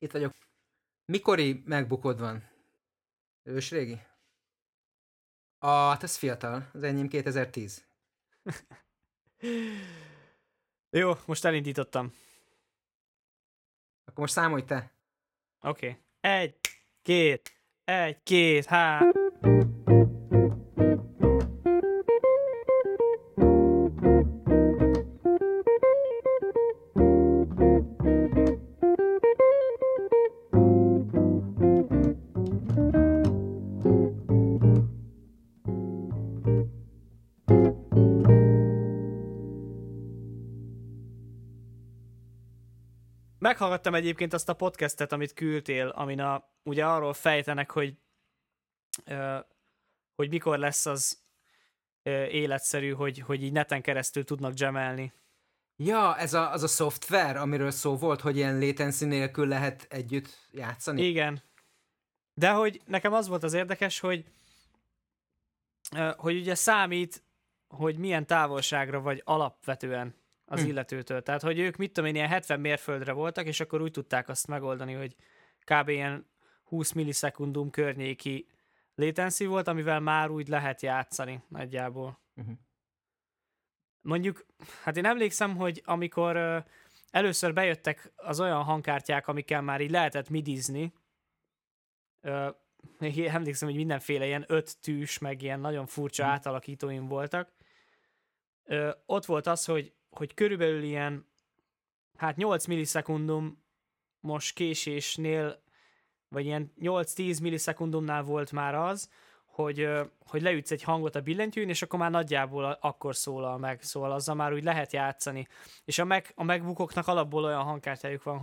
Itt vagyok. Mikori MacBookod van? Ősrégi? Hát ez fiatal. Az enyém 2010. Jó, most elindítottam. Akkor most számolj te. Oké. 1, 2, 1, 2, 3. Meghallgattam egyébként azt a podcastet, amit küldtél, amin ugye arról fejtenek, hogy mikor lesz az életszerű, hogy így neten keresztül tudnak jamelni. Ja, az a szoftver, amiről szó volt, hogy ilyen latency nélkül lehet együtt játszani? Igen. De hogy nekem az volt az érdekes, hogy ugye számít, hogy milyen távolságra vagy alapvetően az illetőtől. Tehát, hogy ők mit tudom én, ilyen 70 mérföldre voltak, és akkor úgy tudták azt megoldani, hogy kb. Ilyen 20 millisekundum környéki latency volt, amivel már úgy lehet játszani nagyjából. Mondjuk, hát én emlékszem, hogy amikor először bejöttek az olyan hangkártyák, amikkel már így lehetett midizni, emlékszem, hogy mindenféle ilyen 5 tűs, meg ilyen nagyon furcsa átalakítóim voltak. Ott volt az, hogy körülbelül ilyen 8 millisekundum most késésnél, vagy ilyen 8-10 millisekundumnál volt már az, hogy leütsz egy hangot a billentyűn, és akkor már nagyjából akkor szólal meg, szóval azzal már úgy lehet játszani. És a MacBookoknak alapból olyan hangkártyájuk van,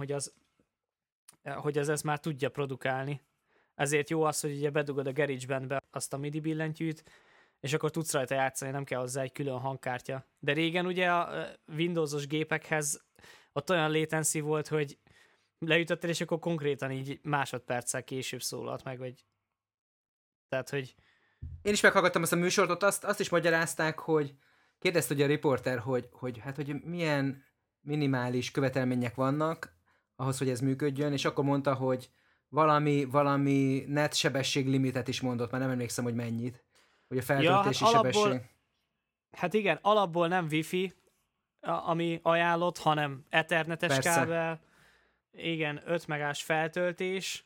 hogy az ezt már tudja produkálni. Ezért jó az, hogy ugye bedugod a GarageBandbe azt a MIDI billentyűt, és akkor tudsz rajta játszani, nem kell hozzá egy külön hangkártya. De régen ugye a Windowsos gépekhez ott olyan latency volt, hogy leütöttél, és akkor konkrétan így másodperccel később szólalt meg, vagy... Tehát, hogy... Én is meghallgattam azt a műsort, ott azt is magyarázták, hogy kérdezte ugye a riporter, hogy milyen minimális követelmények vannak ahhoz, hogy ez működjön, és akkor mondta, hogy valami net sebességlimitet is mondott, már nem emlékszem, hogy mennyit. Hogy a feltöltési sebesség. Hát igen, alapból nem Wi-Fi, ami ajánlott, hanem Ethernetes kábel. Igen, 5 megás feltöltés,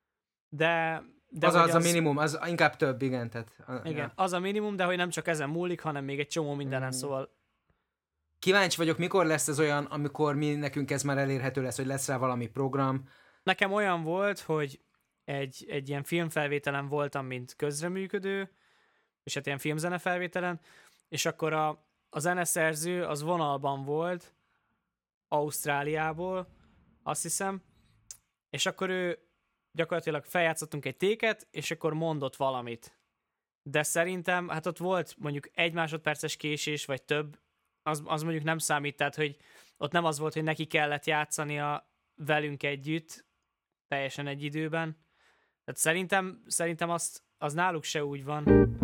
de az a minimum, az inkább több, igen. Igen, az a minimum, de hogy nem csak ezen múlik, hanem még egy csomó mindenen, szóval... Kíváncsi vagyok, mikor lesz ez olyan, amikor nekünk ez már elérhető lesz, hogy lesz rá valami program. Nekem olyan volt, hogy egy ilyen filmfelvételen voltam, mint közreműködő, és hát ilyen filmzene felvételen, és akkor a zeneszerző az vonalban volt, Ausztráliából, azt hiszem, és akkor ő gyakorlatilag feljátszottunk egy téket, és akkor mondott valamit. De szerintem, hát ott volt mondjuk 1 másodperces késés, vagy több, az mondjuk nem számít, tehát hogy ott nem az volt, hogy neki kellett játszania velünk együtt, teljesen egy időben. Tehát szerintem az náluk se úgy van.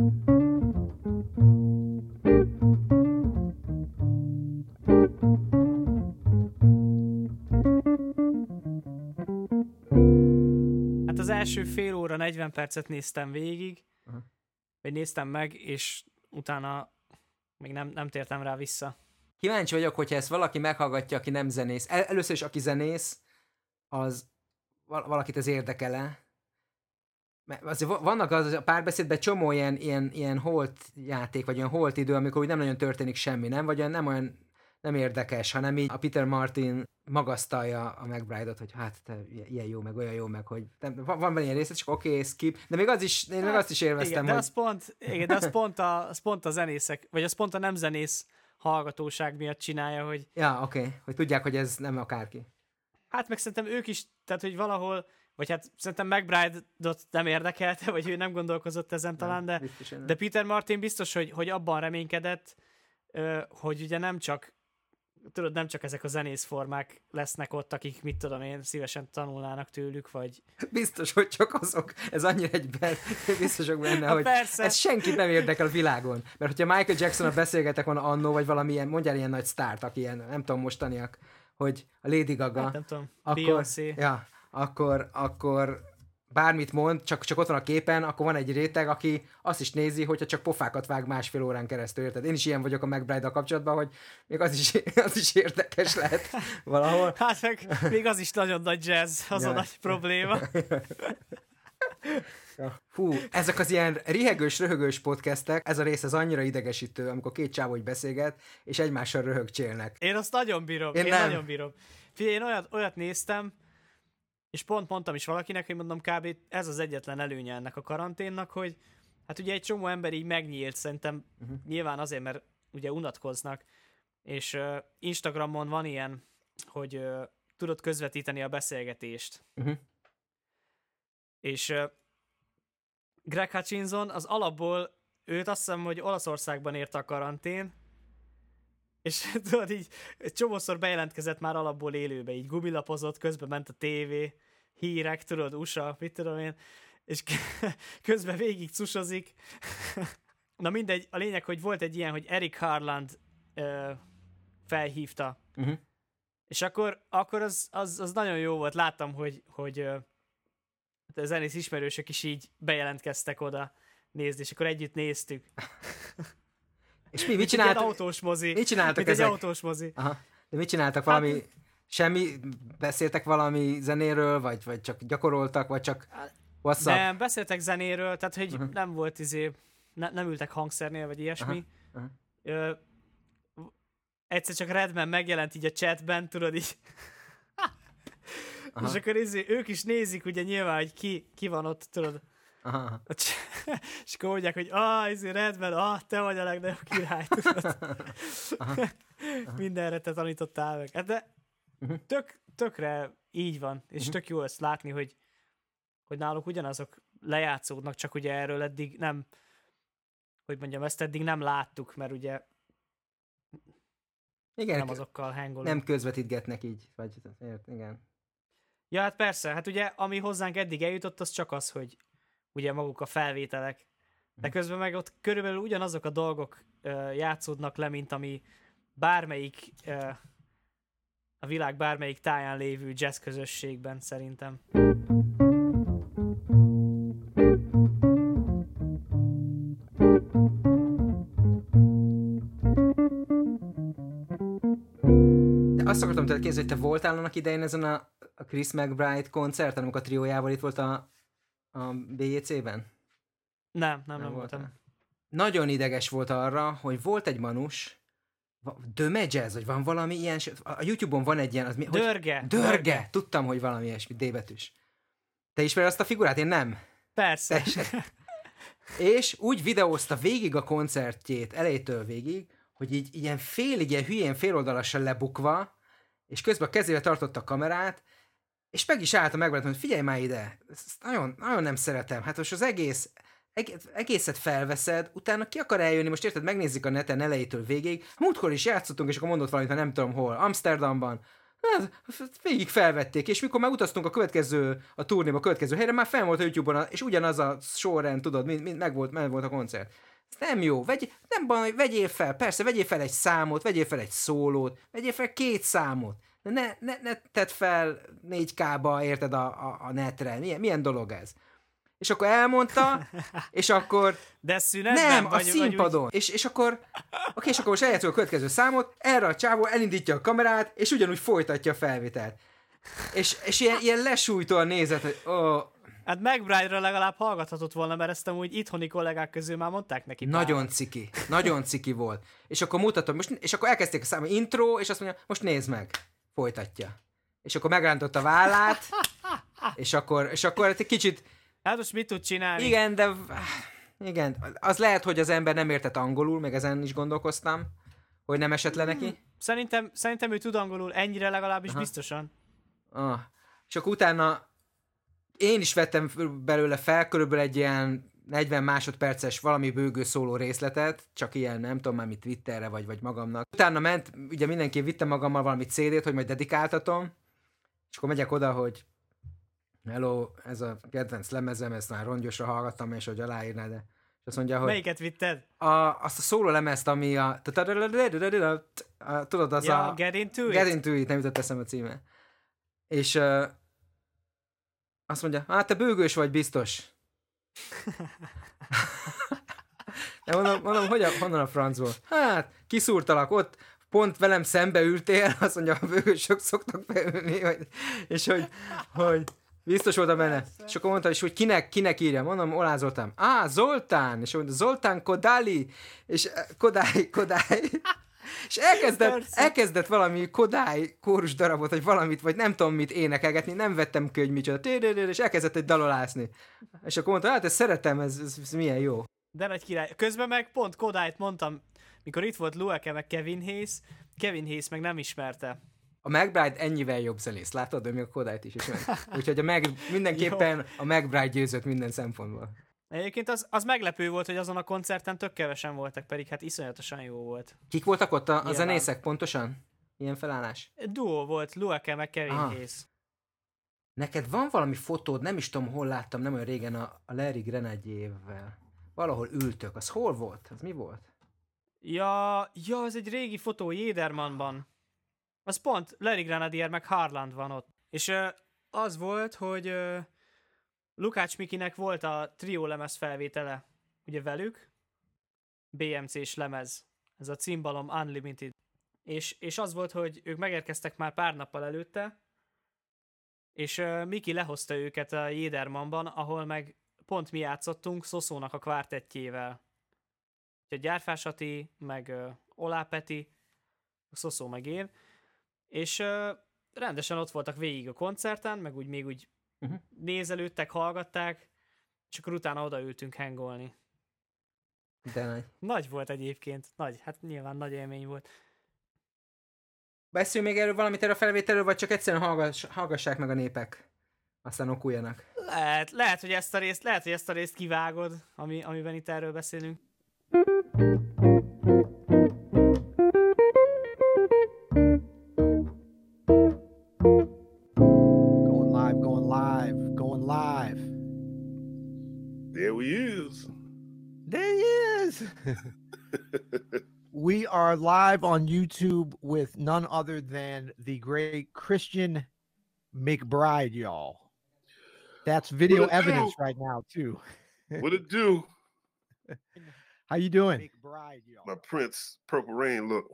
Hát az első fél óra, 40 percet néztem végig, vagy néztem meg, és utána még nem tértem rá vissza. Kíváncsi vagyok, hogyha ezt valaki meghallgatja, aki nem zenész. Először is, aki zenész, az valakit ez érdekele. Mert azért vannak a párbeszédben csomó ilyen holt játék, vagy ilyen holt idő, amikor úgy nem nagyon történik semmi, nem? Vagy nem olyan nem érdekes, hanem így a Peter Martin magasztalja a McBride-ot, hogy hát te ilyen jó, meg olyan jó, meg hogy van ilyen rész, csak oké, skip, de még én meg azt is élveztem, igen, hogy... de az pont a zenészek, vagy az pont a nem zenész hallgatóság miatt csinálja, hogy... Ja, oké, hogy tudják, hogy ez nem akárki. Hát meg szerintem ők is, tehát hogy valahol, vagy hát szerintem McBride-ot nem érdekelte, vagy ő nem gondolkozott ezen talán, de Peter Martin biztos, hogy abban reménykedett, hogy ugye nem csak ezek a zenészformák lesznek ott, akik, mit tudom én, szívesen tanulnának tőlük, vagy... Biztos, hogy csak azok. Ez annyira biztosok benne, hogy persze. Ez senkit nem érdekel a világon. Mert hogyha Michael Jackson-a beszélgetek volna annó, vagy valamilyen, mondjál ilyen nagy sztárt, aki ilyen, nem tudom, mostaniak, hogy a Lady Gaga, hát nem tudom, akkor, Beyoncé. Ja, akkor bármit mond, csak ott van a képen, akkor van egy réteg, aki azt is nézi, hogyha csak pofákat vág 1,5 órán keresztül, érted? Én is ilyen vagyok a McBride-dal kapcsolatban, hogy még az is érdekes lehet valahol. Hát meg még az is nagyon nagy jazz, az a nagy probléma. Fú, ezek az ilyen rihegős, röhögős podcastek, ez a rész az annyira idegesítő, amikor két csávó hogy beszélget, és egymással röhögcsélnek. Én azt nagyon bírom, én nagyon bírom. Figyelj, én olyat néztem, és pont mondtam is valakinek, hogy mondom, kb. Ez az egyetlen előnye ennek a karanténnak, hogy hát ugye egy csomó ember így megnyílt, szerintem nyilván azért, mert ugye unatkoznak, és Instagramon van ilyen, hogy tudod közvetíteni a beszélgetést. És Greg Hutchinson az alapból, őt azt hiszem, hogy Olaszországban érte a karantén, és tudod így csomószor bejelentkezett már alapból élőbe, így gumilapozott, közben ment a tévé, hírek, tudod, USA, mit tudom én, és közben végig cusozik. Na mindegy, a lényeg, hogy volt egy ilyen, hogy Eric Harland felhívta. És akkor az nagyon jó volt, láttam, hogy a zenész ismerősök is így bejelentkeztek oda nézni, és akkor együtt néztük. És mit csináltak? Egy autós mozi. Mit csináltak ezek? Egy autós mozi. Aha. De mit csináltak? Valami... Semmi? Beszéltek valami zenéről, vagy csak gyakoroltak, vagy csak WhatsApp? Nem, beszéltek zenéről, tehát hogy nem volt nem ültek hangszernél, vagy ilyesmi. Egyszer csak Redman megjelent így a chatben, tudod így. És akkor ők is nézik ugye nyilván, hogy ki van ott, tudod. És akkor mondják, hogy Redman, te vagy a legnagyobb király, tudod. Mindenre te tanítottál meg. De tökre így van, és tök jó ezt látni, hogy náluk ugyanazok lejátszódnak, csak ugye erről eddig nem, hogy mondjam, ezt eddig nem láttuk, mert ugye igen, nem azokkal hangolunk. Nem közvetítgetnek így, vagy igen. Ja, hát persze, hát ugye ami hozzánk eddig eljutott, az csak az, hogy ugye maguk a felvételek, de közben meg ott körülbelül ugyanazok a dolgok játszódnak le, mint ami bármelyik a világ bármelyik táján lévő jazz közösségben szerintem. Azt akartam tőled kérdezni, hogy te voltál annak idején ezen a Chris McBride koncerten, amikor a triójával itt volt a BJC-ben? Nem voltam. Nagyon ideges volt arra, hogy volt egy manus, Döme Jazz, vagy van valami ilyen, a YouTube-on van egy ilyen, az mi? Dörge! Tudtam, hogy valami ilyesmi, D-betűs. Te ismered azt a figurát? Én nem. Persze. És úgy videózta végig a koncertjét, elejétől végig, hogy így ilyen ilyen hülyén féloldalasan lebukva, és közben a kezével tartotta a kamerát, és meg is álltam megváltam, hogy figyelj már ide, ezt nagyon, nagyon nem szeretem. Hát most az egészet felveszed, utána ki akar eljönni, most érted, megnézzük a neten elejétől végig, múltkor is játszottunk, és akkor mondott valamit, ha nem tudom hol, Amsterdamban, hát, végig felvették, és mikor megutaztunk a turnéba, a következő helyre, már fenn volt a YouTube-on, és ugyanaz a sorrend, tudod, meg volt a koncert. Ez nem jó, vegyél fel, persze, vegyél fel egy számot, vegyél fel egy szólót, vegyél fel 2 számot, ne tedd fel 4K-ba, érted, a netre, milyen dolog ez? És akkor elmondta, és akkor... De szünetben? Nem, a színpadon. És akkor most eljátszol a következő számot, erre a csávó elindítja a kamerát, és ugyanúgy folytatja a felvételt. És ilyen lesújtóan nézett, hogy Hát McBride-ra legalább hallgathatott volna, mert ezt amúgy itthoni kollégák közül már mondták neki. Nagyon ciki volt. És akkor mutatom, és akkor elkezdték a számot, intro, és azt mondja, most nézd meg. Folytatja. És akkor megrántott a vállát, és akkor egy kicsit... Hát most mit tud csinálni? Igen, az lehet, hogy az ember nem értett angolul, meg ezen is gondolkoztam, hogy nem esett le neki. Szerintem ő tud angolul, ennyire legalábbis biztosan. És akkor utána én is vettem belőle fel körülbelül egy ilyen 40 másodperces valami bőgő szóló részletet, csak ilyen, nem tudom már mit, Twitterre vagy magamnak. Utána ment, ugye mindenki vitte magammal valami CD-t, hogy majd dedikáltatom, és akkor megyek oda, hogy hello, ez a kedvenc lemezem, ezt már rongyosra hallgattam, és hogy aláírná, de... És azt mondja, hogy... Melyiket vitted? Azt a szóló lemezt, ami a... Tudod, az a... Get Into It? Get Into It, nem jutott eszembe a címe. És Azt mondja, hát te bőgős vagy biztos. De mondom honnan a francból? Hát, kiszúrtalak ott, pont velem szembe ültél, azt mondja, a bőgősök szoktak beülni, és hogy biztos voltam benne. És akkor mondta is, hogy kinek írja. Mondom, Olá Zoltán. Zoltán! És mondta, Zoltán Kodály! És Kodály. És elkezdett valami Kodály kórus darabot, vagy valamit, vagy nem tudom mit énekelgetni, nem vettem ki, hogy micsoda, és elkezdett egy dalolászni. És akkor mondta, hát ezt szeretem, ez milyen jó. De nagy király. Közben meg pont Kodályt mondtam, mikor itt volt Lueke meg Kevin Hayes meg nem ismerte. A McBride ennyivel jobb zenész, látod, de még a Kodályt is ismert. Úgyhogy mindenképpen a McBride győzött minden szempontból. Egyébként az meglepő volt, hogy azon a koncerten tök kevesen voltak, pedig hát iszonyatosan jó volt. Kik voltak ott a zenészek pontosan? Ilyen felállás? Duo volt, Lueke meg Kevin Hayes. Neked van valami fotód, nem is tudom, hol láttam, nem olyan régen a Larry Grenadier-vel. Valahol ültök, az hol volt? Az mi volt? Ja, az egy régi fotó Jedermannban. Az pont Larry Grenadier meg Harland van ott. És az volt, hogy Lukács Mikinek volt a trió lemez felvétele, ugye velük, BMC-s lemez, ez a címbalom Unlimited. És az volt, hogy ők megérkeztek már pár nappal előtte, és Miki lehozta őket a Jedermannban, ahol meg pont mi játszottunk Szoszónak a kvártettjével. A Gyárfás Ati, meg Olá Peti, Szoszó meg én, és rendesen ott voltak végig a koncerten, meg úgy még úgy nézelődtek, hallgatták, és akkor utána odaültünk hangolni. De nagy. Nagy volt egyébként, hát nyilván nagy élmény volt. Beszélj még erről a felvételről, vagy csak egyszerűen hallgassák meg a népek, aztán okuljanak. Lehet, hogy ezt a részt kivágod, amiben itt erről beszélünk. Going live. There he is. We are live on YouTube with none other than the great Christian McBride, y'all. That's video evidence right now, too. What it do? How you doing? McBride, y'all. My Prince Purple Rain look.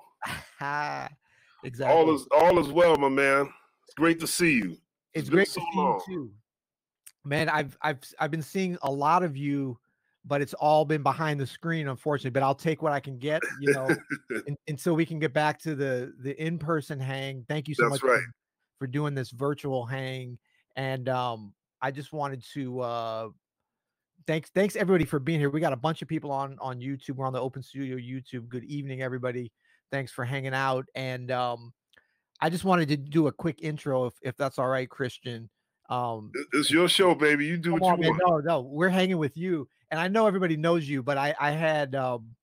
Exactly. All is well, my man. It's great to see you. It's great to see you too. Man, I've been seeing a lot of you, but it's all been behind the screen, unfortunately. But I'll take what I can get, until we can get back to the in-person hang. Thank you so much for doing this virtual hang. And I just wanted to thanks everybody for being here. We got a bunch of people on YouTube. We're on the Open Studio YouTube. Good evening, everybody. Thanks for hanging out. And I just wanted to do a quick intro, if that's all right, Christian. It's your show, baby. You do what you want. No, we're hanging with you, and I know everybody knows you, but I had,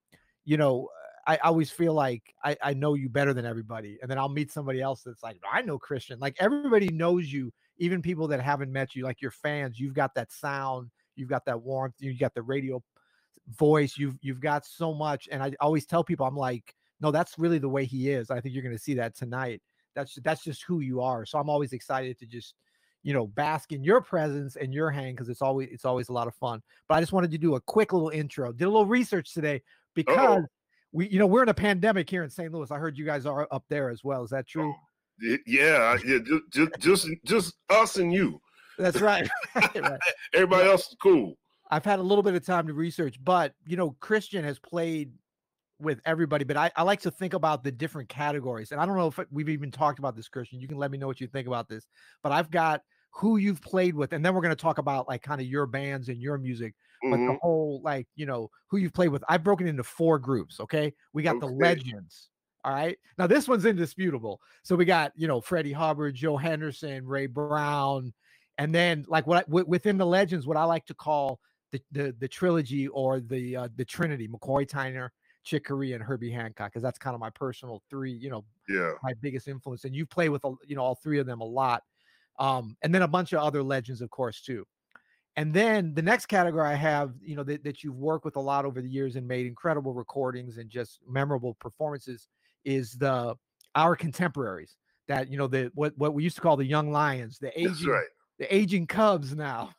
I always feel like I know you better than everybody, and then I'll meet somebody else that's like, I know Christian. Like everybody knows you, even people that haven't met you, like your fans. You've got that sound, you've got that warmth, you got the radio voice, you've got so much, and I always tell people, I'm like, no, that's really the way he is. I think you're going to see that tonight. That's just who you are. So I'm always excited to just, bask in your presence and your hang, because it's always a lot of fun. But I just wanted to do a quick little intro. Did a little research today because we're in a pandemic here in St. Louis. I heard you guys are up there as well. Is that true? Yeah. Just us and you. That's right. Everybody else is cool. I've had a little bit of time to research, but Christian has played with everybody, but I like to think about the different categories. And I don't know if we've even talked about this, Christian. You can let me know what you think about this. But I've got who you've played with, and then we're going to talk about like kind of your bands and your music, but the whole who you've played with. I've broken into 4 groups. Okay, we got the legends. All right, now this one's indisputable. So we got Freddie Hubbard, Joe Henderson, Ray Brown, and then like within the legends, what I like to call the trilogy or the Trinity: McCoy Tyner, Chick Corea, and Herbie Hancock, because that's kind of my personal 3, my biggest influence. And you've played with, all 3 of them a lot. And then a bunch of other legends, of course, too. And then the next category I have, that you've worked with a lot over the years and made incredible recordings and just memorable performances is our contemporaries that, what we used to call the young lions, the aging, the aging Cubs now.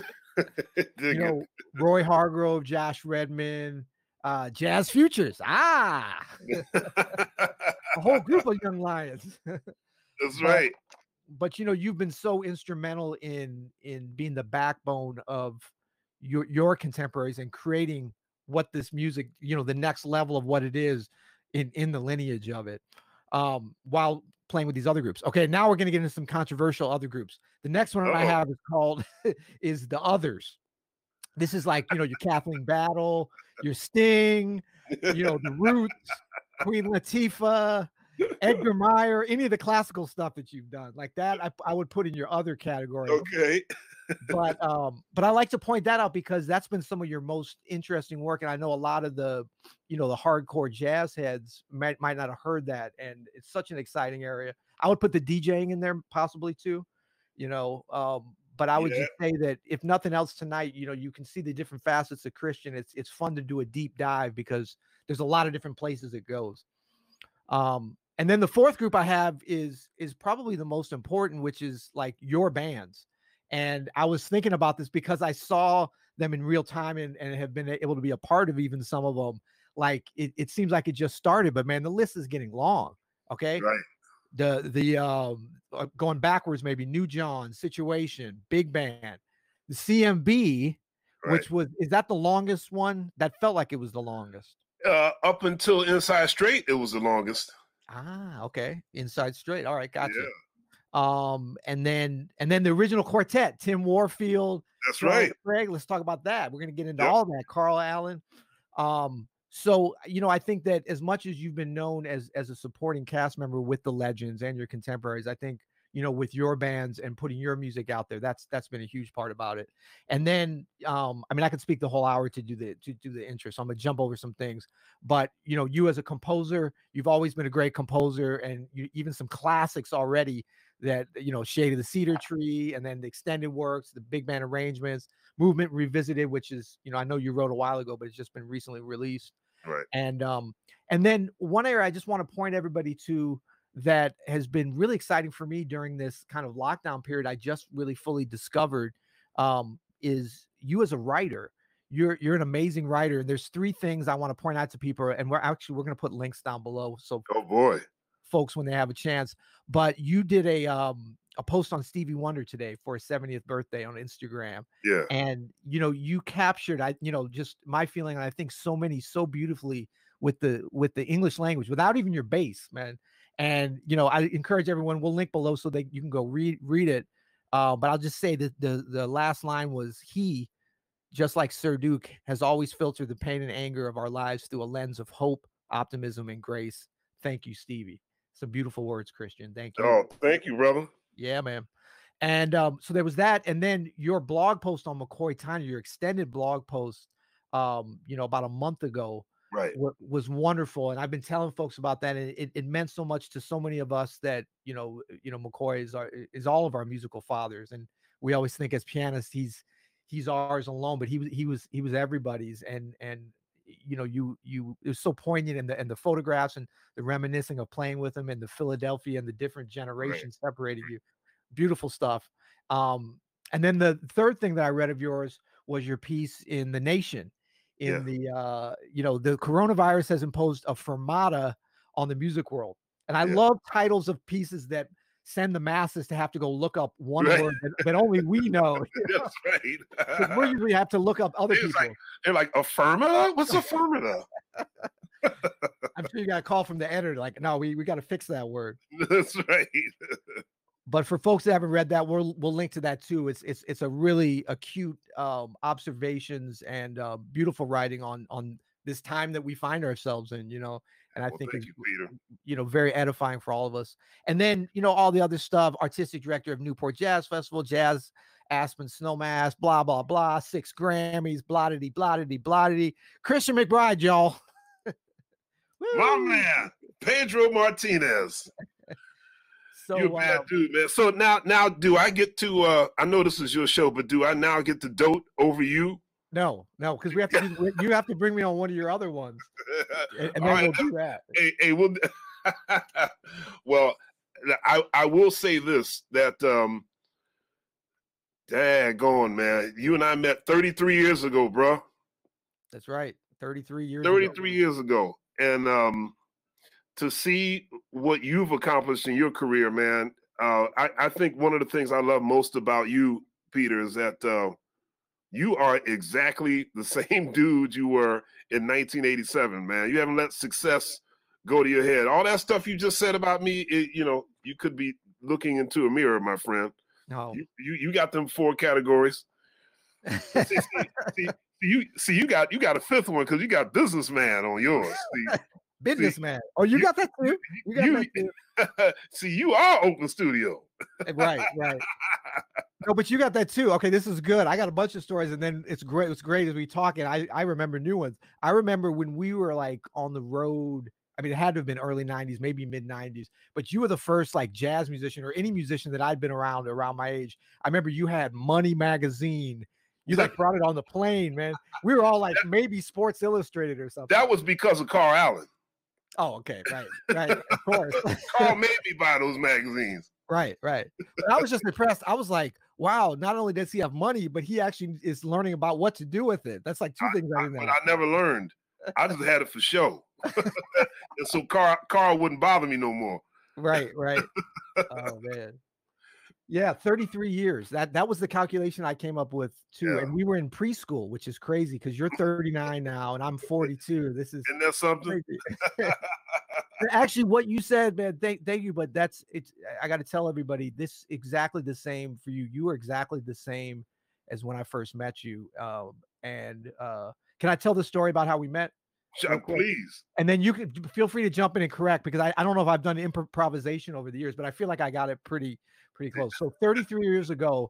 Roy Hargrove, Josh Redman, Jazz Futures. A whole group of young lions. That's right. But you've been so instrumental in being the backbone of your contemporaries and creating what this music, the next level of what it is in the lineage of it, while playing with these other groups. Okay, now we're going to get into some controversial other groups. The next one I have is called is The Others. This is like, your Kathleen Battle, your Sting, the Roots, Queen Latifah, Edgar Meyer, any of the classical stuff that you've done like that, I would put in your other category. Okay. But I like to point that out because that's been some of your most interesting work. And I know a lot of the, the hardcore jazz heads might not have heard that. And it's such an exciting area. I would put the DJing in there possibly too, but I would just say that if nothing else tonight, you can see the different facets of Christian. It's fun to do a deep dive because there's a lot of different places it goes. And then the fourth group I have is probably the most important, which is like your bands. And I was thinking about this because I saw them in real time and have been able to be a part of even some of them. Like it seems like it just started, but man, the list is getting long. Okay. Right. The going backwards, maybe New John, Situation, Big Band, the CMB, right. is that the longest one? That felt like it was the longest. Up until Inside Straight, it was the longest. Okay. Inside Straight. All right, gotcha. Yeah. And then the original quartet, Tim Warfield. That's right. Craig, let's talk about that. We're going to get into all that. Carl Allen. So, I think that as much as you've been known as a supporting cast member with the legends and your contemporaries, I think, with your bands and putting your music out there, that's been a huge part about it. And then, I could speak the whole hour to do the intro, so I'm gonna jump over some things, but you as a composer, you've always been a great composer, and even some classics already that, Shade of the Cedar Tree, and then the extended works, the big band arrangements, Movement Revisited, which is, I know you wrote a while ago, but it's just been recently released. Right. And then one area I just want to point everybody to that has been really exciting for me during this kind of lockdown period, I just really fully discovered, is you as a writer. You're an amazing writer. And there's three things I want to point out to people, and we're going to put links down below. So, oh boy, folks, when they have a chance. But you did a post on Stevie Wonder today for his 70th birthday on Instagram. Yeah. And you captured just my feeling, and I think so beautifully with the English language without even your bass, man. And I encourage everyone, we'll link below so that you can go read it. But I'll just say that the last line was, he, just like Sir Duke, has always filtered the pain and anger of our lives through a lens of hope, optimism, and grace. Thank you, Stevie. Some beautiful words, Christian. Thank you. Oh, thank you, brother. Yeah, man. And so there was that. And then your blog post on McCoy Tyner, your extended blog post, about a month ago, right, was wonderful. And I've been telling folks about that. And it meant so much to so many of us that, McCoy is all of our musical fathers. And we always think as pianists, he's ours alone, but he was everybody's. And it was so poignant in the photographs and the reminiscing of playing with him, and the Philadelphia and the different generations separating you. Beautiful stuff. And then the third thing that I read of yours was your piece in The Nation. In the the coronavirus has imposed a fermata on the music world. And I love titles of pieces that send the masses to have to go look up one word that only we know. That's right. We usually have to look up other people. They're like, affirmata? What's affirmata? I'm sure you got a call from the editor like, no, we got to fix that word. That's right. But for folks that haven't read that, we'll link to that too. It's a really acute observations and beautiful writing on this time that we find ourselves in, and I think it's, very edifying for all of us. And then, all the other stuff, artistic director of Newport Jazz Festival, Jazz Aspen Snowmass, blah, blah, blah, 6 Grammys, blottity, blottity, blottity. Christian McBride, y'all. My man, Pedro Martinez. So, you're a bad dude, man. So now, do I get to? I know this is your show, but do I now get to dote over you? No, because we have to. You have to bring me on one of your other ones, and then we'll do that. Hey, well, I will say this, that Daggone, man. You and I met 33 years ago, bro. That's right. 33 years ago. 33 years ago. And to see what you've accomplished in your career, man, I think one of the things I love most about you, Peter, is that you are exactly the same dude you were in 1987, man. You haven't let success go to your head. All that stuff you just said about me, you could be looking into a mirror, my friend. No. You got them 4 categories. See, you got a 5th one because you got businessman on yours. Businessman. Oh, you got that too? You got that too. See, you are Oakland Studio. Right. No, but you got that too. Okay, this is good. I got a bunch of stories, and then it's great. It's great as we talk, and I remember new ones. I remember when we were like on the road. I mean, it had to have been early 90s, maybe mid 90s, but you were the first like jazz musician or any musician that I'd been around my age. I remember you had Money magazine. You like brought it on the plane, man. We were all like maybe Sports Illustrated or something. That was because of Carl Allen. Oh, okay. Right. Of course. Carl made me buy those magazines. Right. But I was just impressed. I was like, wow, not only does he have money, but he actually is learning about what to do with it. That's like 2 things I didn't know. But I never learned. I just had it for show. And so Carl wouldn't bother me no more. Right. Oh, man. Yeah, 33 years. That was the calculation I came up with too. Yeah. And we were in preschool, which is crazy because you're 39 now and I'm 42. This is Isn't that something? Actually, what you said, man, thank you. But I got to tell everybody this exactly the same for you. You are exactly the same as when I first met you. Can I tell the story about how we met? Please. And then you can feel free to jump in and correct because I don't know if I've done improvisation over the years, but I feel like I got it pretty close. So 33 years ago,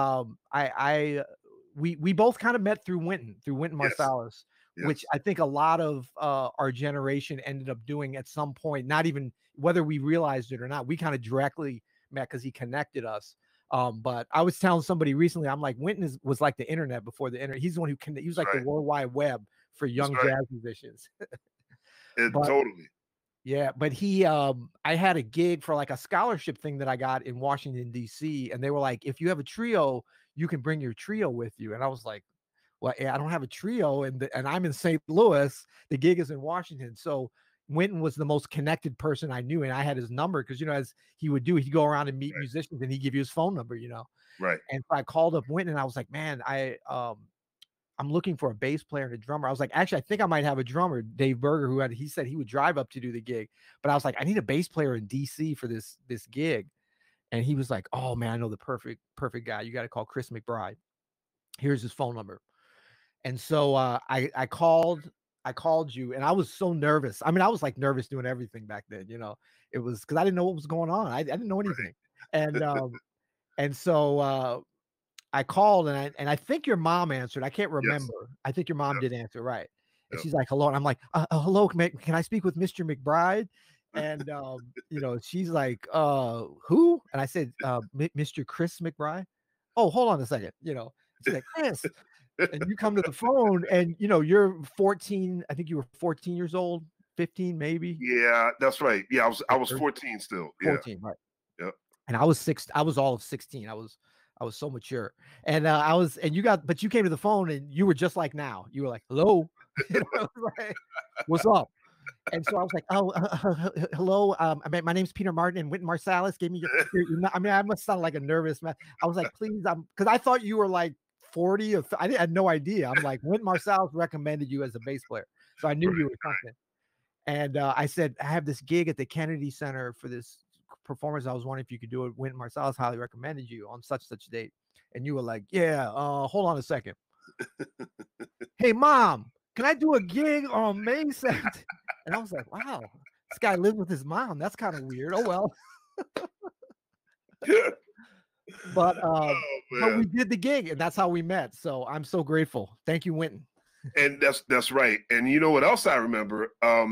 we both kind of met through Wynton Marsalis, yes. Which I think a lot of our generation ended up doing at some point, not even whether we realized it or not. We kind of directly met because he connected us. But I was telling somebody recently, I'm like, Wynton was like the internet before the internet. He's the one he was like the World Wide Web for young jazz musicians. Totally. Yeah, but I had a gig for like a scholarship thing that I got in Washington, D.C. And they were like, if you have a trio, you can bring your trio with you. And I was like, well, I don't have a trio. And I'm in St. Louis. The gig is in Washington. So Wynton was the most connected person I knew. And I had his number because, as he would do, he'd go around and meet musicians and he'd give you his phone number, Right. And so I called up Wynton and I was like, man, I'm looking for a bass player and a drummer. I was like, actually, I think I might have a drummer, Dave Berger, he said he would drive up to do the gig. But I was like, I need a bass player in DC for this gig. And he was like, oh man, I know the perfect guy. You got to call Chris McBride. Here's his phone number. And so I called you and I was so nervous. I mean, I was like nervous doing everything back then, it was because I didn't know what was going on. I didn't know anything. And so I called and I think your mom answered. I can't remember. Yes. I think your mom did answer. Right. And she's like, hello. And I'm like, hello, can I speak with Mr. McBride? And, she's like, who? And I said, Mr. Chris McBride. Oh, hold on a second. She's like, Chris. And you come to the phone and, you're 14. I think you were 14 years old, 15, maybe. Yeah, that's right. Yeah. I was 14 still. 14. Right. Yep. And I was all of 16. I was so mature. And but you came to the phone and you were just like now. You were like, hello. Like, what's up? And so I was like, oh, hello. My name's Peter Martin and Wynton Marsalis gave me your I must sound like a nervous man. I was like, please, because I thought you were like 40 or I had no idea. I'm like, Wynton Marsalis recommended you as a bass player. So I knew you were something. And I said, I have this gig at the Kennedy Center for this performance. I was wondering if you could do it. Wynton Marsalis highly recommended you on such date. And you were like, yeah, hold on a second. Hey, Mom, can I do a gig on May 2nd? And I was like, wow, this guy lives with his mom. That's kind of weird. Oh, well. But we did the gig and that's how we met. So I'm so grateful. Thank you, Wynton. And that's right. And you know what else I remember?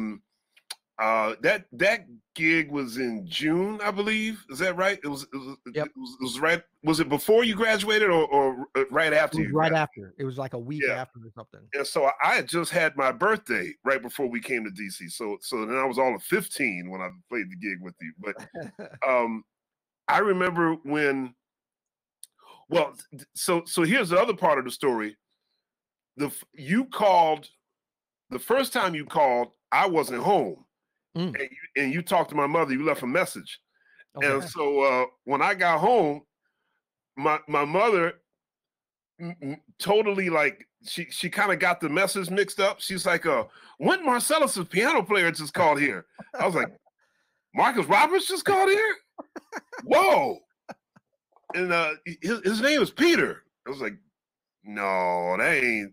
That gig was in June, I believe. Is that right? It was right. Was it before you graduated or right after? It was right after. It was like a week after or something. And so I had just had my birthday right before we came to DC. So then I was all of 15 when I played the gig with you. But I remember when Well, so here's the other part of the story. You called the first time you called, I wasn't home, and you talked to my mother. You left a message, and so when I got home, my mother totally like she kind of got the message mixed up. She's like, Wynton Marsalis, piano player, just called here. I was like, Marcus Roberts just called here? Whoa. And his name is Peter. I was like, no, that ain't.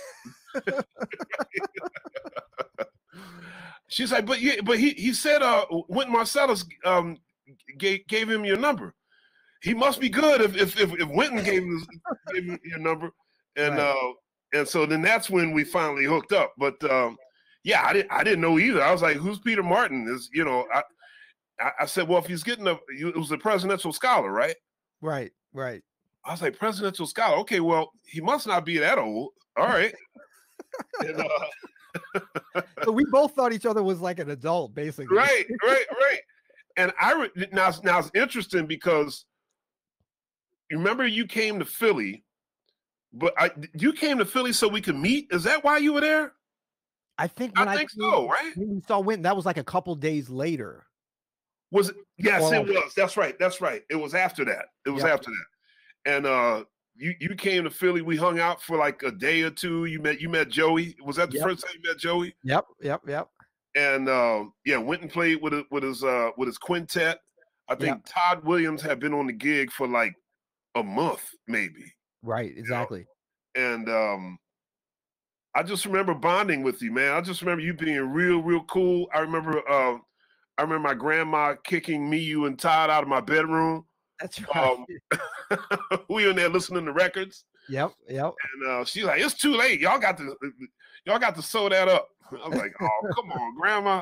She's like, but he said Wynton Marsalis gave him your number. He must be good if Wynton gave him your number. And and so then that's when we finally hooked up. But yeah, I didn't know either. I was like, who's Peter Martin? I said, well, if he's getting it was a presidential scholar, right? Right. I was like, presidential scholar. Okay, well, he must not be that old. All right. And, so we both thought each other was like an adult, basically. Right. And now it's interesting because you remember you came to Philly, but you came to Philly so we could meet. Is that why you were there? I think so, right? When we saw Wynton, that was like a couple days later. Was it? Yes, it was. That's right. It was after that. After that. And you came to Philly. We hung out for like a day or two. You met Joey. Was that the first time you met Joey? Yep. And Wynton played with his quintet. I think Todd Williams had been on the gig for like a month, maybe. Right, exactly. And I just remember bonding with you, man. I just remember you being real cool. I remember my grandma kicking me, you, and Todd out of my bedroom. That's right. We were in there listening to records. Yep. And she's like, "It's too late. Y'all got to sew that up." I was like, "Oh, come on, Grandma."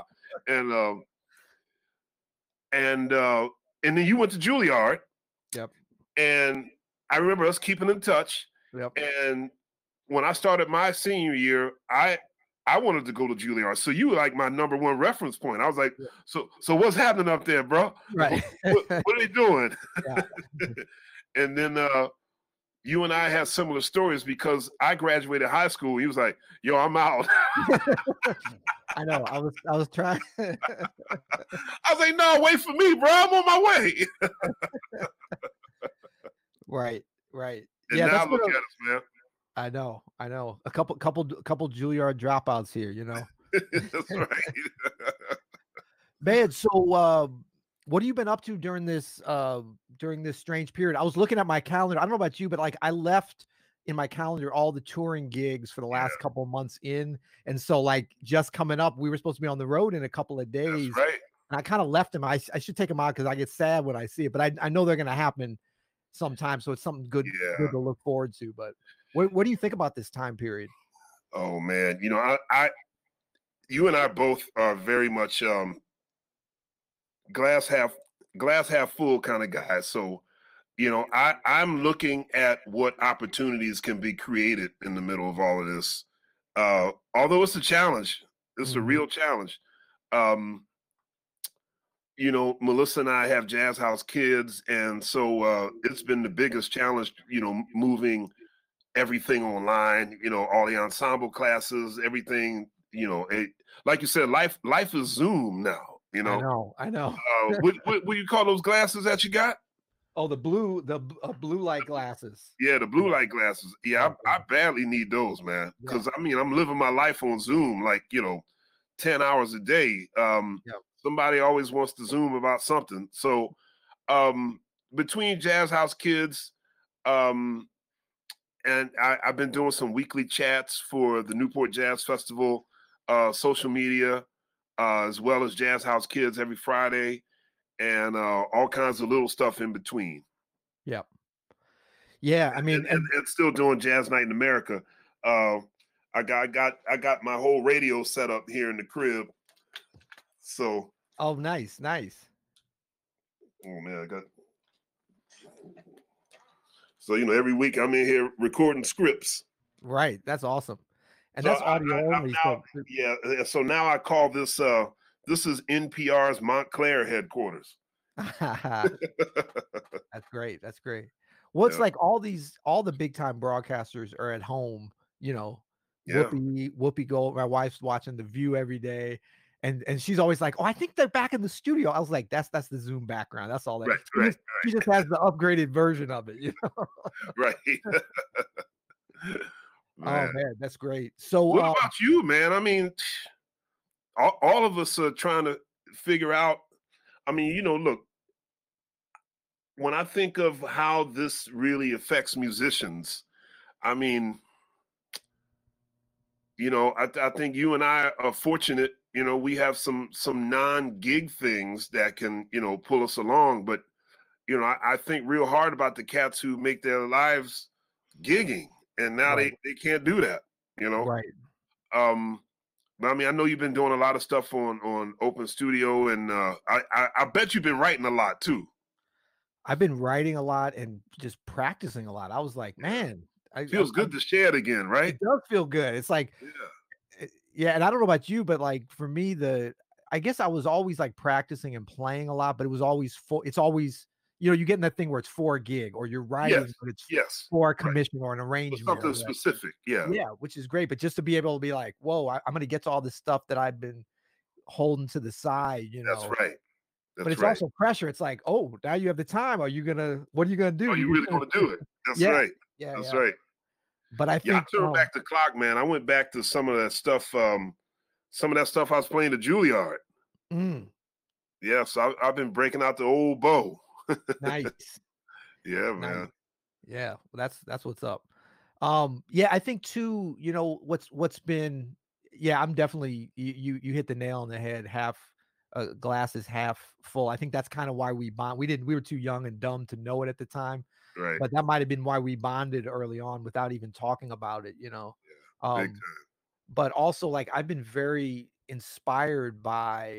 And then you went to Juilliard. Yep. And I remember us keeping in touch. Yep. And when I started my senior year, I wanted to go to Juilliard. So you were like my number one reference point. I was like, so what's happening up there, bro? Right. What are they doing? Yeah. And then you and I had similar stories because I graduated high school. He was like, "Yo, I'm out." I know. I was trying. I was like, "No, wait for me, bro. I'm on my way." Right. And now look at us, man. I know. A couple Juilliard dropouts here, you know. That's right. Man, so what have you been up to during this strange period? I was looking at my calendar. I don't know about you, but like I left in my calendar all the touring gigs for the last couple of months in. And so like just coming up, we were supposed to be on the road in a couple of days. That's right. And I kind of left them. I should take them out because I get sad when I see it, but I know they're going to happen sometime. So it's something good to look forward to. But what do you think about this time period? Oh man, you and I both are very much glass half full kind of guys. So, I'm looking at what opportunities can be created in the middle of all of this. Although it's a challenge, it's a real challenge. Melissa and I have Jazz House Kids, and so it's been the biggest challenge, moving everything online, all the ensemble classes, everything, like you said, life is Zoom now, I know. What do you call those glasses that you got? Oh, the blue light glasses. Yeah, the blue light glasses. Yeah, I badly need those, man. Because I'm living my life on Zoom, like 10 hours a day. Somebody always wants to Zoom about something. So between Jazz House Kids, and I've been doing some weekly chats for the Newport Jazz Festival, social media, as well as Jazz House Kids every Friday, and all kinds of little stuff in between. Yep. Yeah, I mean, and still doing Jazz Night in America. I got my whole radio set up here in the crib. So. Oh, nice. Oh man, I got. So every week I'm in here recording scripts. Right, that's awesome, and so that's audio only. So now I call this. This is NPR's Montclair headquarters. That's great. Well, it's Yeah. like all the big time broadcasters are at home, you know. Yeah. Whoopi Gold, my wife's watching The View every day, and she's always like, "Oh, I think they're back in the studio." I was like, "That's the Zoom background. That's all that." Right, She right, just, she just has the upgraded version of it, you know. right. Oh Man. man, that's great. So, What about you, man? I mean, all of us are trying to figure out. I mean, look, when I think of how this really affects musicians, I mean, I think you and I are fortunate. We have some non-gig things that can, pull us along. But I think real hard about the cats who make their lives gigging, and now right, they can't do that. right. Um, but I mean, I know you've been doing a lot of stuff on Open Studio, and I bet you've been writing a lot too. I've been writing a lot and just practicing a lot. I was like, man, Feels good to share it again, right? it does feel good. It's like, Yeah, yeah, and I don't know about you, but like for me, I guess I was always like practicing and playing a lot, but it was always it's always, you get in that thing where it's for a gig or you're writing, yes, but it's yes, for a right. commission or an For arrangement. something specific, yeah, Yeah, which is great. But just to be able to be like, whoa, I'm going to get to all this stuff that I've been holding to the side, that's right, But that's it's right. also pressure. It's like, oh, now you have the time. What are you gonna do? Are you really going to do it? That's Yeah, right, yeah, that's yeah. right. But I Yeah, I think, turned back the clock, man. I went back to some of that stuff. Some of that stuff I was playing at Juilliard. mm, Yeah, so I've been breaking out the old bow. nice, Yeah, nice. man. Yeah, well, that's what's up. Yeah, I think too, what's been, yeah, I'm definitely, you hit the nail on the head. Half glass is half full. I think that's kind of why we bond. We were too young and dumb to know it at the time, Right, but that might have been why we bonded early on without even talking about it. big Um, but also like I've been very inspired by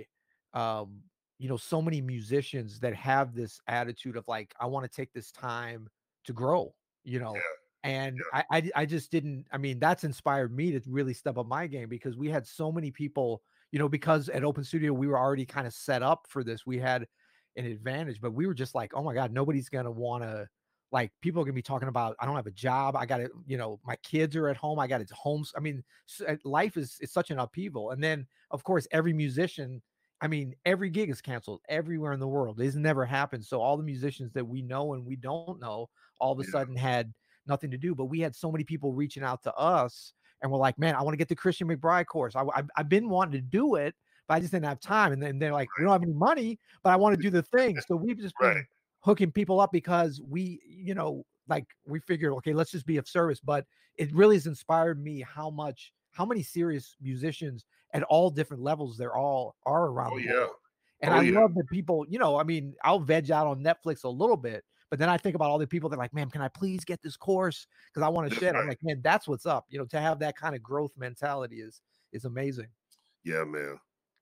um so many musicians that have this attitude of like, I want to take this time to grow, you know time. and Yeah, I just didn't. I mean, that's inspired me to really step up my game, because we had so many people, because at Open Studio we were already kind of set up for this. We had an advantage, but we were just like, oh my god, nobody's gonna want to, like, people are gonna be talking about, I don't have a job, I got to, my kids are at home, I got it homes. I mean, life is such an upheaval. And then of course every musician, I mean, every gig is canceled everywhere in the world. It's never happened. So all the musicians that we know and we don't know all of a yeah, sudden had nothing to do. But we had so many people reaching out to us, and we're like, man, I want to get the Christian McBride course. I've been wanting to do it, but I just didn't have time. And then they're like, we don't have any money, but I want to do the thing. So we've just right. been hooking people up because we, like, we figured, okay, let's just be of service. But it really has inspired me how many serious musicians at all different levels there all are around Oh the yeah, world. And oh I yeah, love that people, I mean, I'll veg out on Netflix a little bit, but then I think about all the people that are like, man, can I please get this course? Because I want to that's share it. I'm right. like, man, that's what's up. To have that kind of growth mentality is amazing. Yeah, man.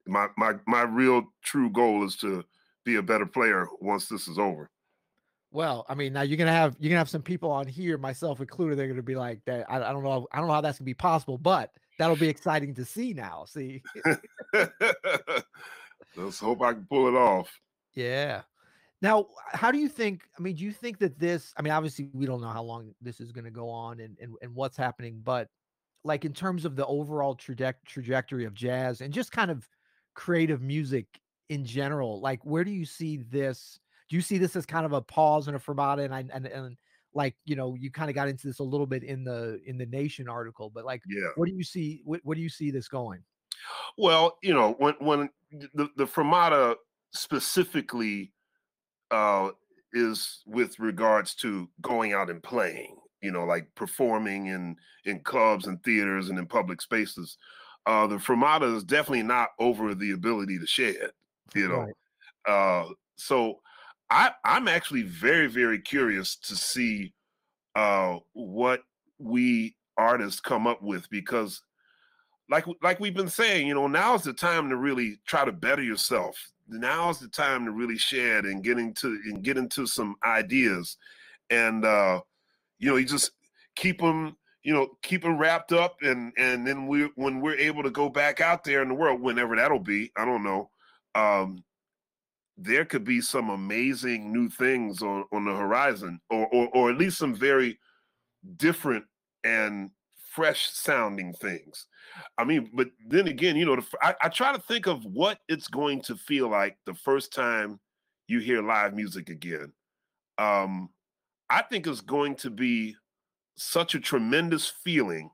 My real true goal is to be a better player once this is over. Well, I mean, now you're gonna have some people on here, myself included. They're gonna be like that. I don't know. I don't know how that's gonna be possible, but that'll be exciting to see now. See, Let's hope I can pull it off. yeah. Now, how do you think? I mean, do you think that this? I mean, obviously, we don't know how long this is going to go on and what's happening, but like in terms of the overall trajectory of jazz and just kind of creative music in general, like where do you see this? Do you see this as kind of a pause and a fermata? And like, you kind of got into this a little bit in the Nation article, but like, Yeah. what do you see? What do you see this going? Well, when the Fermata specifically uh, is with regards to going out and playing, like performing in clubs and theaters and in public spaces. The Fermata is definitely not over the ability to shed, you know. Right. So I'm actually very, very curious to see what we artists come up with, because like we've been saying, now's the time to really try to better yourself. Now's the time to really shed and get into some ideas, and you just keep them wrapped up, and then when we're able to go back out there in the world, whenever that'll be, I don't know. there could be some amazing new things on the horizon, or at least some very different and fresh sounding things. I mean, but then again, you know, I try to think of what it's going to feel like the first time you hear live music again. I think it's going to be such a tremendous feeling.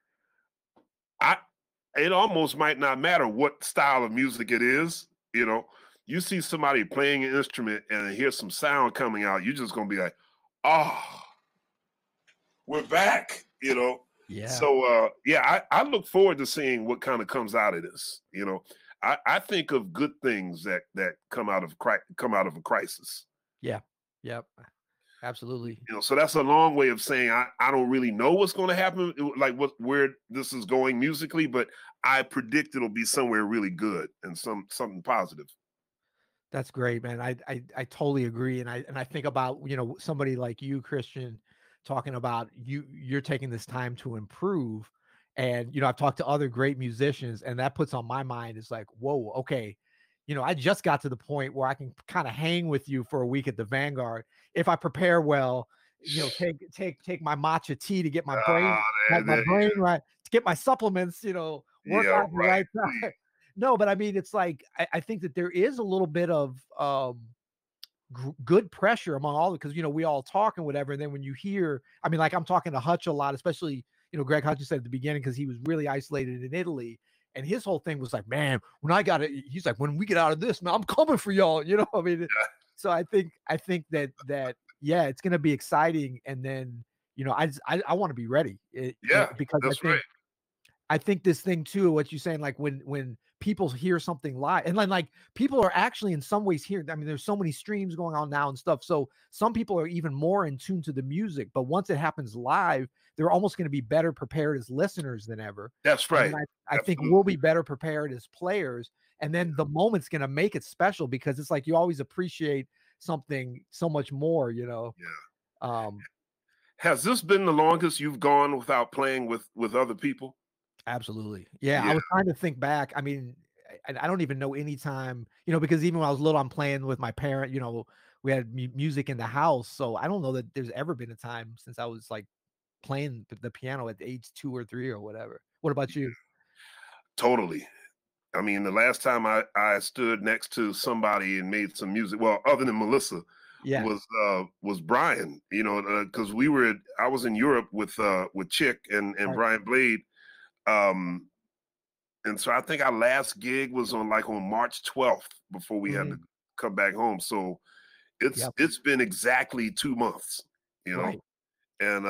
It almost might not matter what style of music it is. You know, you see somebody playing an instrument and hear some sound coming out, you're just gonna be like, oh, we're back, you know. Yeah. So I look forward to seeing what kind of comes out of this. You know, I think of good things that come out of a crisis. Yeah. Yep. Absolutely. You know, so that's a long way of saying I don't really know what's going to happen, like where this is going musically, but I predict it'll be somewhere really good and something positive. That's great, man. I totally agree, and I think about, you know, somebody like you, Christian, talking about you're taking this time to improve, and you know, I've talked to other great musicians, and that puts on my mind is like, whoa, okay, you know, I just got to the point where I can kind of hang with you for a week at the Vanguard if I prepare well. You know, take my matcha tea to get my brain right, to get my supplements. You know, work out the right time. No, but I mean, it's like I think that there is a little bit of good pressure among all, because you know, we all talk and whatever, and then when you hear, I mean, like I'm talking to Hutch a lot, especially, you know, Greg Hutch said at the beginning, because he was really isolated in Italy. And his whole thing was like, man, when I got it, he's like, when we get out of this, man, I'm coming for y'all. You know, I mean, yeah. So I think that yeah, it's gonna be exciting. And then, you know, I want to be ready. Because I think this thing too, what you're saying, like when people hear something live, and then like people are actually in some ways hearing, I mean, there's so many streams going on now and stuff. So some people are even more in tune to the music, but once it happens live, they're almost going to be better prepared as listeners than ever. That's right. I think we'll be better prepared as players. And then the moment's going to make it special, because it's like you always appreciate something so much more, you know? Yeah. Has this been the longest you've gone without playing with other people? Absolutely. Yeah. I was trying to think back. I mean, I don't even know any time, you know, because even when I was little, I'm playing with my parent, you know, we had music in the house. So I don't know that there's ever been a time since I was like playing the piano at age 2 or 3 or whatever. What about you? Totally. I mean, the last time I stood next to somebody and made some music, well, other than Melissa, was Brian, you know, because I was in Europe with Chick and Brian Blade. And so I think our last gig was on March 12th before we had to come back home. So it's been exactly 2 months, you know, right. And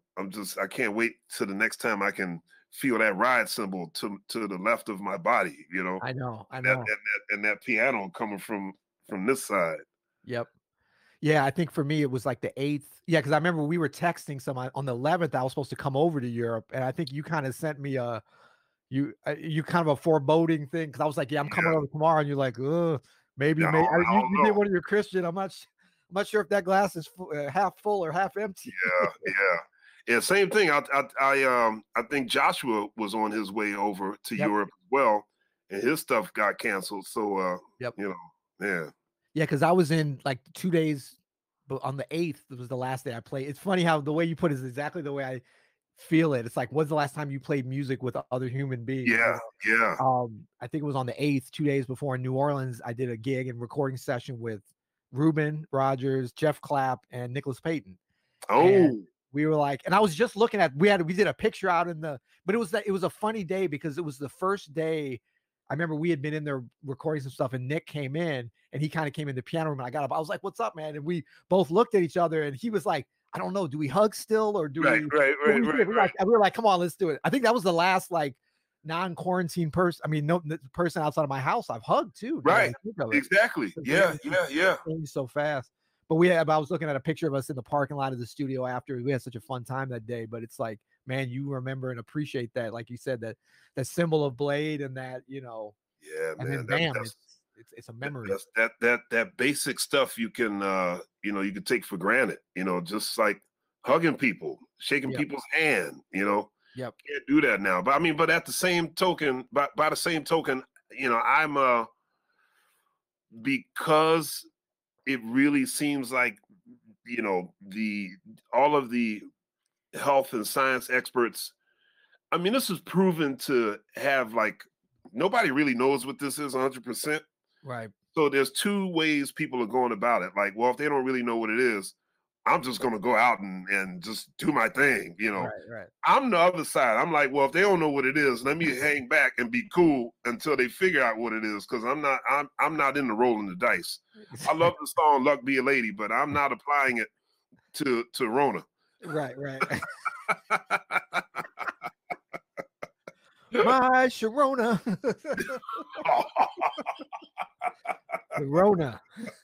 I can't wait till the next time I can feel that ride cymbal to the left of my body, you know. I know. And that piano coming from this side. Yep. Yeah, I think for me it was like the 8th. Yeah, because I remember we were texting on the 11th. I was supposed to come over to Europe, and I think you kind of sent me you kind of a foreboding thing, because I was like, yeah, I'm coming over tomorrow, and you're like, maybe you did one of your Christian. I'm not sure if that glass is half full or half empty. Yeah. Same thing. I think Joshua was on his way over to Europe as well, and his stuff got canceled. So you know, yeah. Yeah, because I was in like 2 days, but on the 8th, it was the last day I played. It's funny how the way you put it is exactly the way I feel it. It's like, when's the last time you played music with other human beings? Yeah, yeah. I think it was on the 8th, 2 days before in New Orleans. I did a gig and recording session with Ruben Rogers, Jeff Clapp, and Nicholas Payton. Oh. And we were like, and I was just looking at, we did a picture out but it was a funny day, because it was the first day. I remember we had been in there recording some stuff, and Nick came in, and he kind of came in the piano room, and I got up. I was like, "What's up, man?" And we both looked at each other, and he was like, "I don't know. Do we hug still, or do we?" Right. We were like, "Come on, let's do it." I think that was the last like non-quarantine person. I mean, no person outside of my house I've hugged too. Right. Exactly. Yeah. So fast. But I was looking at a picture of us in the parking lot of the studio after. We had such a fun time that day. But it's like, man, you remember and appreciate that, like you said, that symbol of Blade, and that, you know. Yeah, and man. Then, it's a memory. That basic stuff you can you can take for granted. You know, just like hugging people, shaking people's hand. You know. Yep. Can't do that now. But I mean, but at the same token, by the same token, you know, because it really seems like, all of the health and science experts, I mean, this is proven to have, like, nobody really knows what this is 100%. Right. So there's two ways people are going about it. Like, well, if they don't really know what it is, I'm just going to go out and just do my thing. Right. I'm the other side. I'm like, well, if they don't know what it is, let me hang back and be cool until they figure out what it is. Because I'm not in the rolling the dice. I love the song "Luck Be a Lady," but I'm not applying it to Rona. Right. My Sharona. The Rona.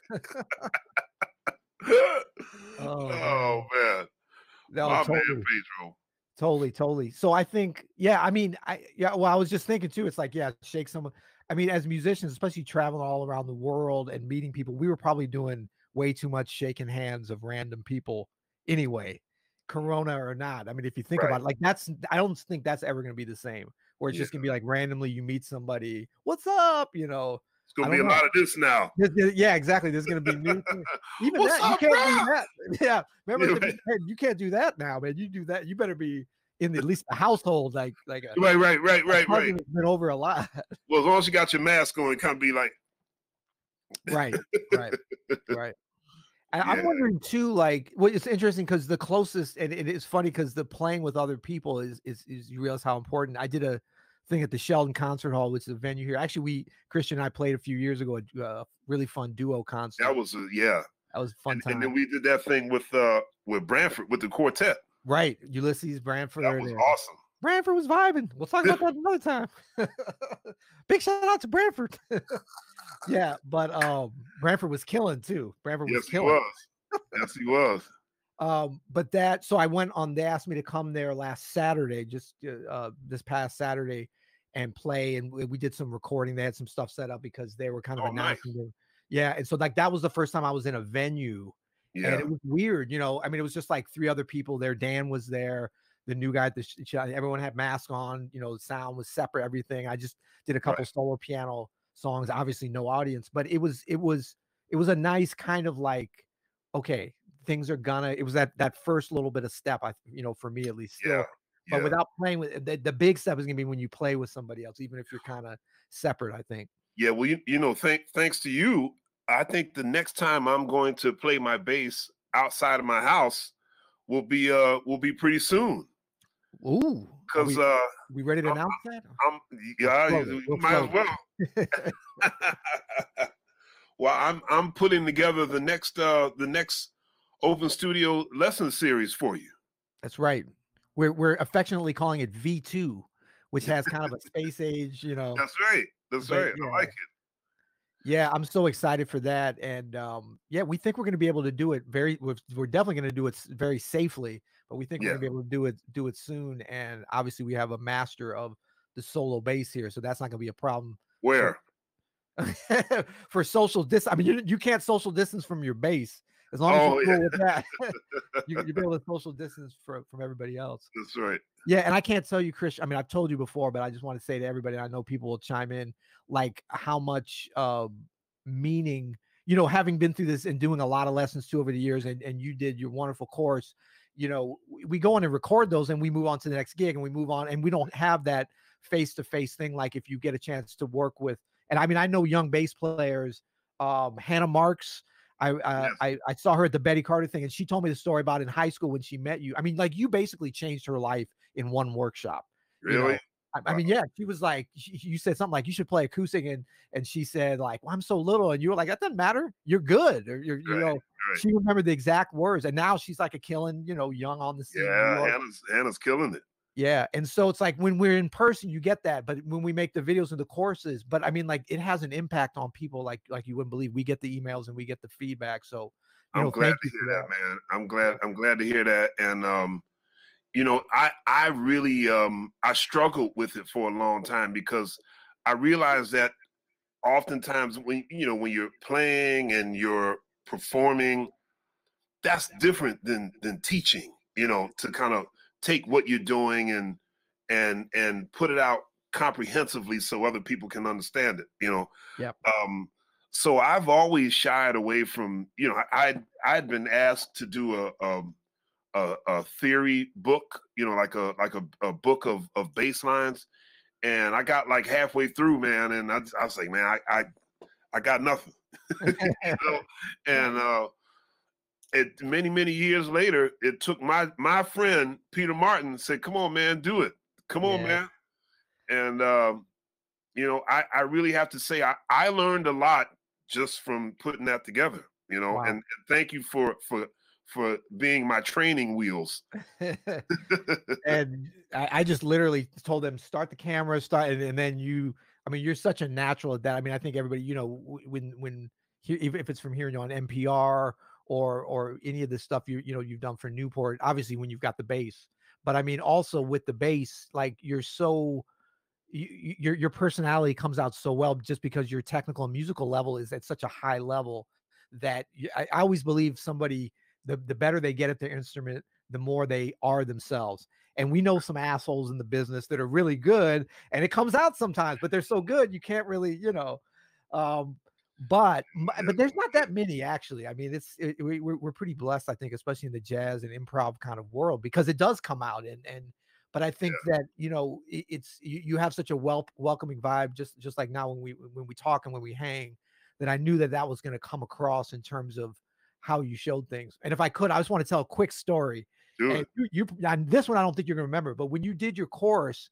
Oh man. No, My totally. man, Pedro. Totally. So I think, I mean, I was just thinking too, it's like, shake someone. I mean, as musicians, especially traveling all around the world and meeting people, we were probably doing way too much shaking hands of random people anyway, Corona or not. I mean, if you think about it, like I don't think that's ever going to be the same, where it's just going to be like randomly you meet somebody, what's up? It's going to be a lot of this now. Yeah, exactly. There's going to be new things. Even what's that, up, you can't do that. Yeah. Remember, you can't do that now, man. You do that, you better be in at least the household, like right. It's been over a lot. Well, as long as you got your mask on, it can't be like right. And I'm wondering too, like, well, it's interesting because the closest, and it is funny because the playing with other people is you realize how important. I did a thing at the Sheldon Concert Hall, which is a venue here. Actually, Christian and I played a few years ago, a really fun duo concert. That was that was a fun time. And then we did that thing with Branford with the quartet. Right, Ulysses Branford. That was awesome. Branford was vibing. We'll talk about that another time. Big shout out to Branford. Yeah, but Branford was killing too. Yes, he was. But so I went on. They asked me to come there last Saturday, just this past Saturday, and play. And we did some recording. They had some stuff set up because they were kind of announcing. Nice. Yeah, and so like that was the first time I was in a venue. Yeah, and it was weird. I mean, it was just like 3 other people there. Dan was there. The new guy, everyone had masks on. The sound was separate. Everything. I just did a couple solo piano songs. Obviously, no audience, but it was a nice kind of like, okay, things are gonna. It was that first little bit of step. For me at least. Still. Yeah. But without playing with the big step is gonna be when you play with somebody else, even if you're kind of separate. I think. Yeah. Well, thanks to you, I think the next time I'm going to play my bass outside of my house will be pretty soon. Ooh, because we ready to announce that? You might as well. Well, I'm putting together the next Open Studio lesson series for you. That's right. We're affectionately calling it V2, which has kind of a space age, That's right. Yeah. I like it. Yeah, I'm so excited for that, and we think we're going to be able to do it we're definitely going to do it very safely, but we think we're going to be able to do it soon. And obviously, we have a master of the solo bass here, so that's not going to be a problem. Where? For social distance, I mean, you can't social distance from your bass as long as you're cool with that. You'll be able to social distance from everybody else. That's right. Yeah, and I can't tell you, Chris. I mean, I've told you before, but I just want to say to everybody, I know people will chime in, like how much meaning, having been through this and doing a lot of lessons too over the years, and you did your wonderful course. We go in and record those, and we move on to the next gig, and we move on, and we don't have that face-to-face thing like if you get a chance to work with. And I mean, I know young bass players, Hannah Marks. I saw her at the Betty Carter thing, and she told me the story about in high school when she met you. I mean, like you basically changed her life in one workshop. Really? I mean, yeah, she was like, you said something like you should play acoustic, and she said like, well, I'm so little, and you were like, that doesn't matter, you're good, or right. She remembered the exact words, and now she's like a killing, young on the scene. Yeah, Hannah's killing it. Yeah, and so it's like when we're in person, you get that, but when we make the videos and the courses, but I mean, like it has an impact on people, like you wouldn't believe. We get the emails and we get the feedback. So I'm glad to hear that, man. I'm glad to hear that, and I really I struggled with it for a long time because I realized that oftentimes when you're playing and you're performing, that's different than teaching. To kind of take what you're doing and put it out comprehensively so other people can understand it. Yeah. So I've always shied away from, you know, I'd been asked to do a theory book, you know, like a book of bass lines, and I got like halfway through, man, and I was like, man, I got nothing, you know, and it many years later, it took my friend Peter Martin said, "Come on, man, do it. Come on, Yeah. man," and you know, I really have to say I learned a lot just from putting that together, you know, Wow. and thank you for being my training wheels. And I just literally told them start the camera, start, and then you. I mean, you're such a natural at that. I mean, I think everybody, you know, when even if it's from hearing you on NPR or any of the stuff you know you've done for Newport, obviously when you've got the bass, but I mean also with the bass, like you're so your personality comes out so well just because your technical and musical level is at such a high level that I always believe somebody the better they get at their instrument, the more they are themselves. And we know some assholes in the business that are really good, and it comes out sometimes, but they're so good you can't really, you know. Um, but there's not that many actually. I mean, we're pretty blessed, I think, especially in the jazz and improv kind of world, because it does come out and but I think that, you know, it's you have such a welcoming vibe, just like now when we talk and when we hang, that I knew that that was going to come across in terms of how you showed things. And if I could, I just want to tell a quick story. Do And it. and this one I don't think you're gonna remember, but when you did your course,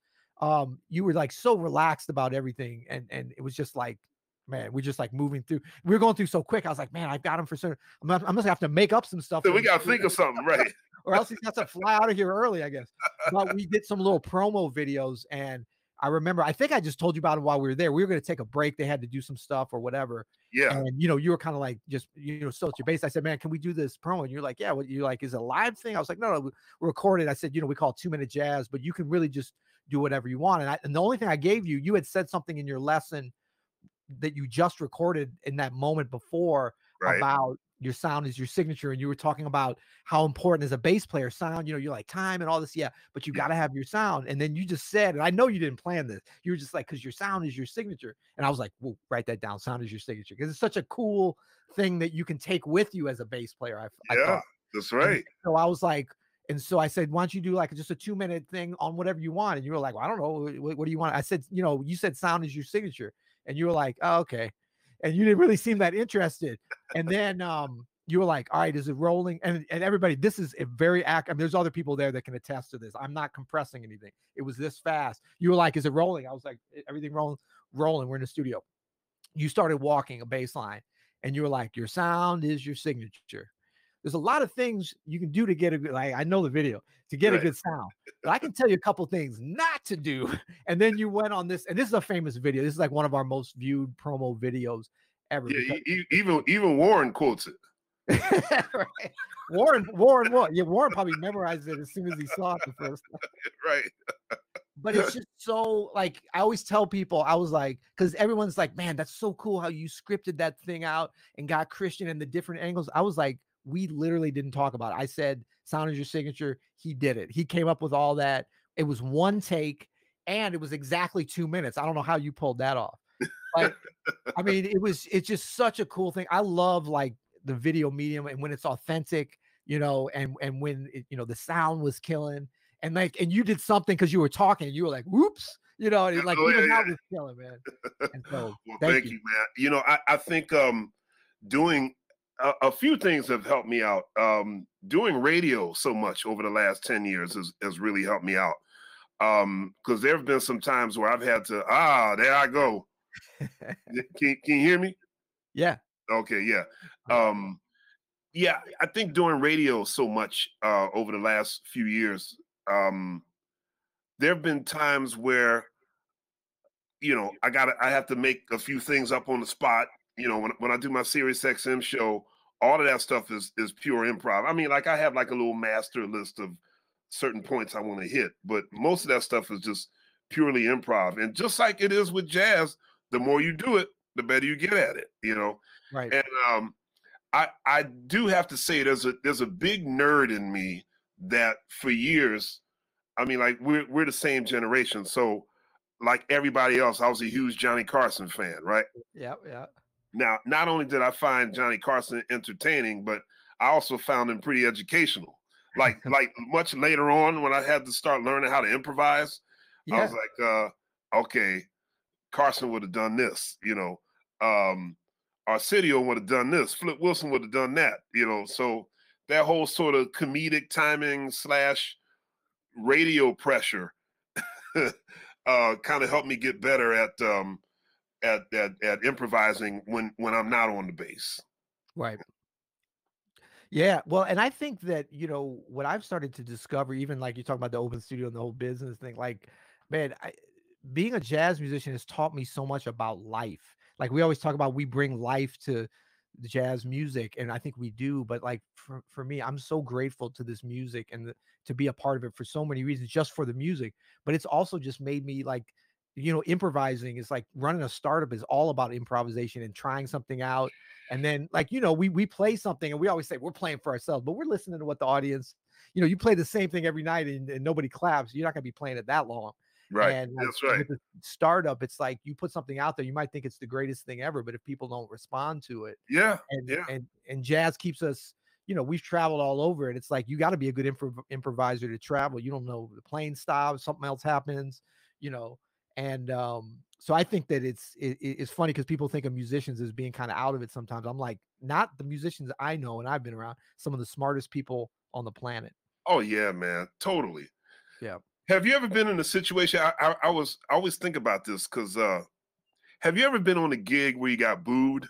you were like so relaxed about everything, and it was just like, man, we're just like moving through. We were going through so quick. I was like, man, I've got him for certain. I'm just gonna have to make up some stuff So for we him, got to think of something, right? or else he's got to fly out of here early, I guess. But we did some little promo videos, and I remember, I think I just told you about it while we were there. We were going to take a break. They had to do some stuff or whatever. Yeah. And, you know, you were kind of like, just, you know, still at your base. I said, man, can we do this promo? And you're like, yeah. What you're like, is it a live thing? I was like, no, we recorded. I said, you know, we call it 2-minute jazz, but you can really just do whatever you want. And the only thing I gave you, you had said something in your lesson that you just recorded in that moment before Right. about your sound is your signature, and you were talking about how important as a bass player sound, you know, you're like time and all this, yeah, but you got to have your sound. And then you just said, and I know you didn't plan this, you were just like, because your sound is your signature. And I was like, well, write that down, sound is your signature, because it's such a cool thing that you can take with you as a bass player. I Yeah, thought that's and right. so I was like, and so I said, why don't you do like just a 2-minute thing on whatever you want? And you were like, well, I don't know. What do you want? I said, you know, you said sound is your signature. And you were like, oh, okay. And you didn't really seem that interested. And then you were like, all right, is it rolling? And everybody, this is a very I mean, there's other people there that can attest to this. I'm not compressing anything. It was this fast. You were like, is it rolling? I was like, everything rolling. We're in the studio. You started walking a bass line, and you were like, your sound is your signature. There's a lot of things you can do to get a good, like, I know the video, to get a Right. good sound, but I can tell you a couple things not to do. And then you went on this, and this is a famous video. This is like one of our most viewed promo videos ever. Yeah, Because even Warren quotes it. right. Warren probably memorized it as soon as he saw it the first time. Right. But it's just so, like, I always tell people, I was like, because everyone's like, man, that's so cool how you scripted that thing out and got Christian and the different angles. I was like, we literally didn't talk about it. I said, sound is your signature. He did it. He came up with all that. It was one take, and it was exactly 2 minutes. I don't know how you pulled that off. But I mean, it's just such a cool thing. I love like the video medium, and when it's authentic, you know, and when it, you know, the sound was killing, and like, and you did something because you were talking, and you were like, whoops, you know, and like Oh, even yeah, that yeah. was killing, man. And so Well, thank thank you. you, man. You know, I think doing a few things have helped me out. Doing radio so much over the last 10 years has really helped me out. Because there have been some times where I've had to, there I go. Can you hear me? Yeah. Okay, yeah. Yeah, I think doing radio so much over the last few years, there have been times where, you know, I have to make a few things up on the spot. You know, when I do my Sirius XM show, all of that stuff is pure improv. I mean, like I have like a little master list of certain points I want to hit, but most of that stuff is just purely improv. And just like it is with jazz, the more you do it, the better you get at it, you know. Right. And I do have to say there's a big nerd in me that for years, I mean, like we're the same generation. So like everybody else, I was a huge Johnny Carson fan, right? Yeah. Yeah. Now, not only did I find Johnny Carson entertaining, but I also found him pretty educational. Like much later on when I had to start learning how to improvise, I was like, okay, Carson would have done this, Arsenio would have done this, Flip Wilson would have done that, so that whole sort of comedic timing / radio pressure kind of helped me get better at improvising when I'm not on the bass. Right. Yeah. Well, and I think that, what I've started to discover, even like you talk about the open studio and the whole business thing, like, man, being a jazz musician has taught me so much about life. Like we always talk about, we bring life to the jazz music, and I think we do. But like for me, I'm so grateful to this music and to be a part of it for so many reasons, just for the music. But it's also just made me like, improvising is like running a startup is all about improvisation and trying something out. And then like, we play something and we always say we're playing for ourselves, but we're listening to what the audience, you play the same thing every night and nobody claps. You're not going to be playing it that long. Right. And that's right. With the startup, it's like you put something out there, you might think it's the greatest thing ever, but if people don't respond to it, and jazz keeps us, we've traveled all over it. It's like you got to be a good improviser to travel. You don't know, the plane stops, something else happens, and so I think that it's funny because people think of musicians as being kind of out of it sometimes. I'm like, not the musicians I know and I've been around, some of the smartest people on the planet. Oh yeah, man, totally. Yeah. Have you ever been in a situation? I always think about this because have you ever been on a gig where you got booed?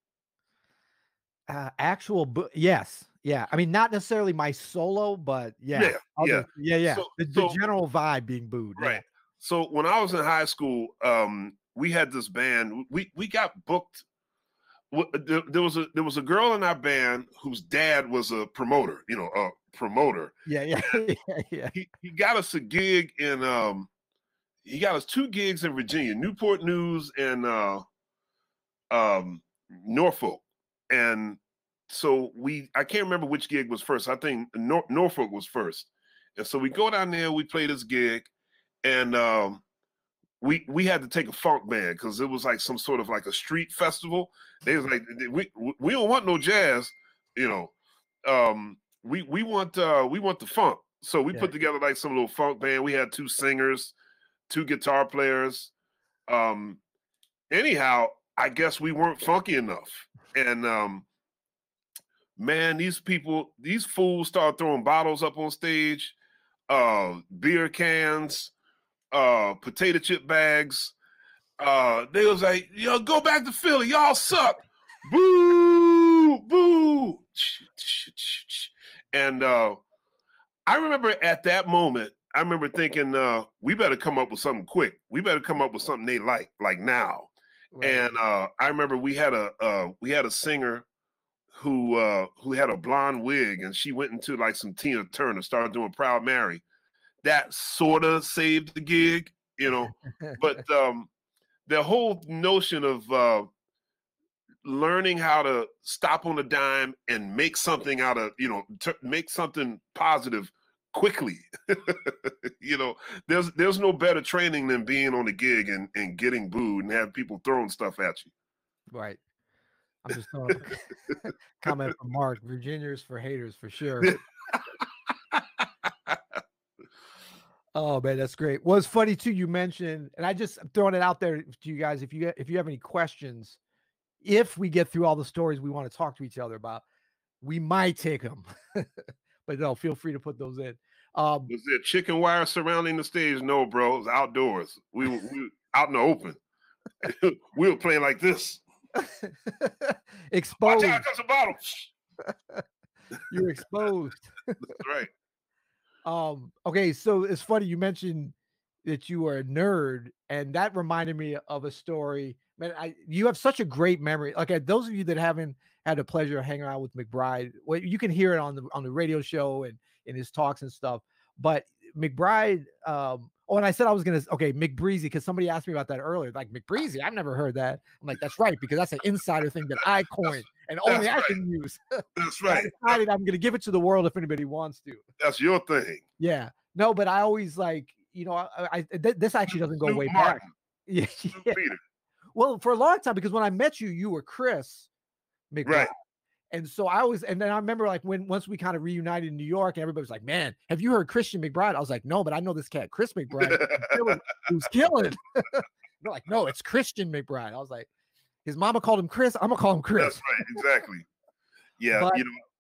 Yes. Yeah. I mean, not necessarily my solo, but yeah. Yeah. So, the general vibe being booed. Right. Yeah. So when I was in high school, we had this band. We got booked. There was a girl in our band whose dad was a promoter. Yeah. He got us a gig in he got us 2 gigs in Virginia, Newport News and Norfolk. And so I can't remember which gig was first. I think Norfolk was first. And so we go down there, we play this gig, and we had to take a funk band because it was like some sort of like a street festival. They was like, we don't want no jazz, we want the funk. So we put together like some little funk band. We had 2 singers, 2 guitar players. Anyhow, I guess we weren't funky enough. And man, these fools started throwing bottles up on stage, beer cans, potato chip bags. They was like, yo, go back to Philly, y'all suck. Boo, boo. And I remember at that moment, I remember thinking, we better come up with something quick. We better come up with something they like now. Right. And I remember we had a singer who had a blonde wig, and she went into like some Tina Turner, started doing Proud Mary. That sort of saved the gig, but the whole notion of learning how to stop on a dime and make something out of, make something positive quickly. There's no better training than being on the gig and getting booed and have people throwing stuff at you. Right. I'm just throwing a comment from Mark. Virginia's for haters for sure. Oh man, that's great. Well, it's funny too. You mentioned, and I'm throwing it out there to you guys. If you have any questions, if we get through all the stories we want to talk to each other about, we might take them. But no, feel free to put those in. Was there chicken wire surrounding the stage? No, bro. It was outdoors. We were out in the open. We were playing like this. Exposed. Watch out, there's a bottle. You're exposed. That's right. Okay, so it's funny you mentioned that you were a nerd, and that reminded me of a story. Man, you have such a great memory. Okay, those of you that haven't had the pleasure of hanging out with McBride, well, you can hear it on the radio show and in his talks and stuff. But McBride, and I said I was gonna McBreezy, because somebody asked me about that earlier. Like, McBreezy, I've never heard that. I'm like, that's right, because that's an insider thing that I coined and only I can use. That's right. I decided I'm gonna give it to the world if anybody wants to. That's your thing. Yeah. No, but I always like, this actually doesn't go way back. Yeah. Peter. Well, for a long time, because when I met you, you were Chris McBride. Right. And so and then I remember like once we kind of reunited in New York and everybody was like, man, have you heard Christian McBride? I was like, no, but I know this cat, Chris McBride, who's killing. They're like, no, it's Christian McBride. I was like, his mama called him Chris. I'm gonna call him Chris. That's right. Exactly. Yeah. But,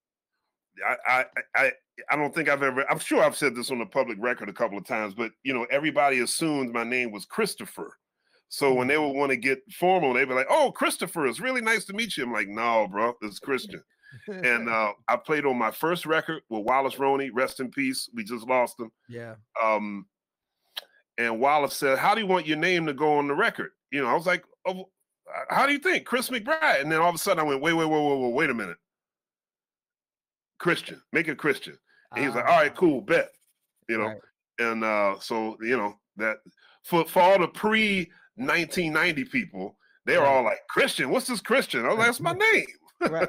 I don't think I've ever, I'm sure I've said this on the public record a couple of times, but everybody assumed my name was Christopher. So when they would want to get formal, they'd be like, oh, Christopher, it's really nice to meet you. I'm like, no, bro, it's Christian. And I played on my first record with Wallace Roney, rest in peace. We just lost him. Yeah. And Wallace said, how do you want your name to go on the record? I was like, oh, how do you think? Chris McBride. And then all of a sudden I went, wait a minute. Christian, make it Christian. And he was like, all right, cool, bet. Right. And so, that for all the pre-1990 people, they were all like, Christian, what's this Christian? Oh, that's my name. Right.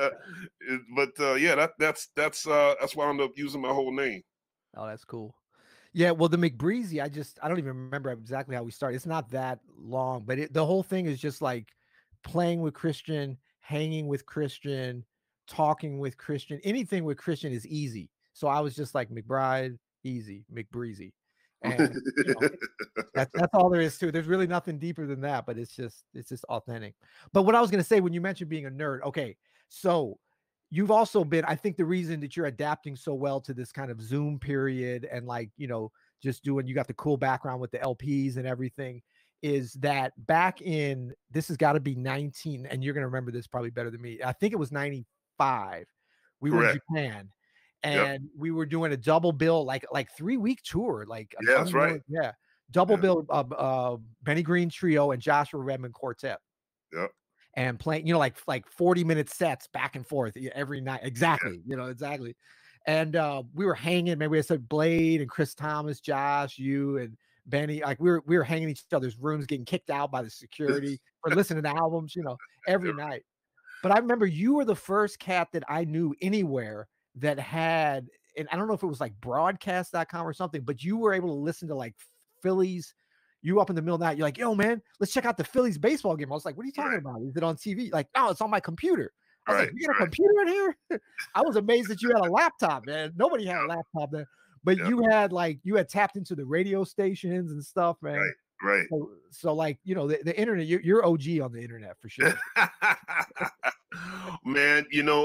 But that's why I ended up using my whole name. Oh, that's cool. Yeah, well, the McBreezy, I don't even remember exactly how we started. It's not that long, but the whole thing is just like playing with Christian, hanging with Christian, talking with Christian. Anything with Christian is easy. So I was just like, McBride, easy, McBreezy. And that's all there is to it. There's really nothing deeper than that, but it's just authentic. But what I was going to say, when you mentioned being a nerd, okay, so you've also been, I think the reason that you're adapting so well to this kind of Zoom period and like, just doing, you got the cool background with the LPs and everything, is that back in, this has got to be 19, and you're going to remember this probably better than me. I think it was 95. We were in Japan. And we were doing a double bill, like 3-week tour, like that's right. Yeah, double bill, Benny Green Trio and Joshua Redmond Quartet. Yep. And playing, like 40-minute sets back and forth every night. Exactly, exactly. And we were hanging. Maybe I said Blade and Chris Thomas, Josh, you and Benny. Like we were hanging in each other's rooms, getting kicked out by the security for listening to albums, every night. But I remember you were the first cat that I knew anywhere that had, and I don't know if it was like broadcast.com or something, but you were able to listen to like Phillies. You up in the middle of the night, you're like, yo, man, let's check out the Phillies baseball game. I was like, what are you talking about? Is it on TV? Like, no, it's on my computer. I was like, you got a computer in here? I was amazed that you had a laptop, man. Nobody had a laptop then. But you had tapped into the radio stations and stuff, man. Right. So like, the internet, you're OG on the internet for sure. Man,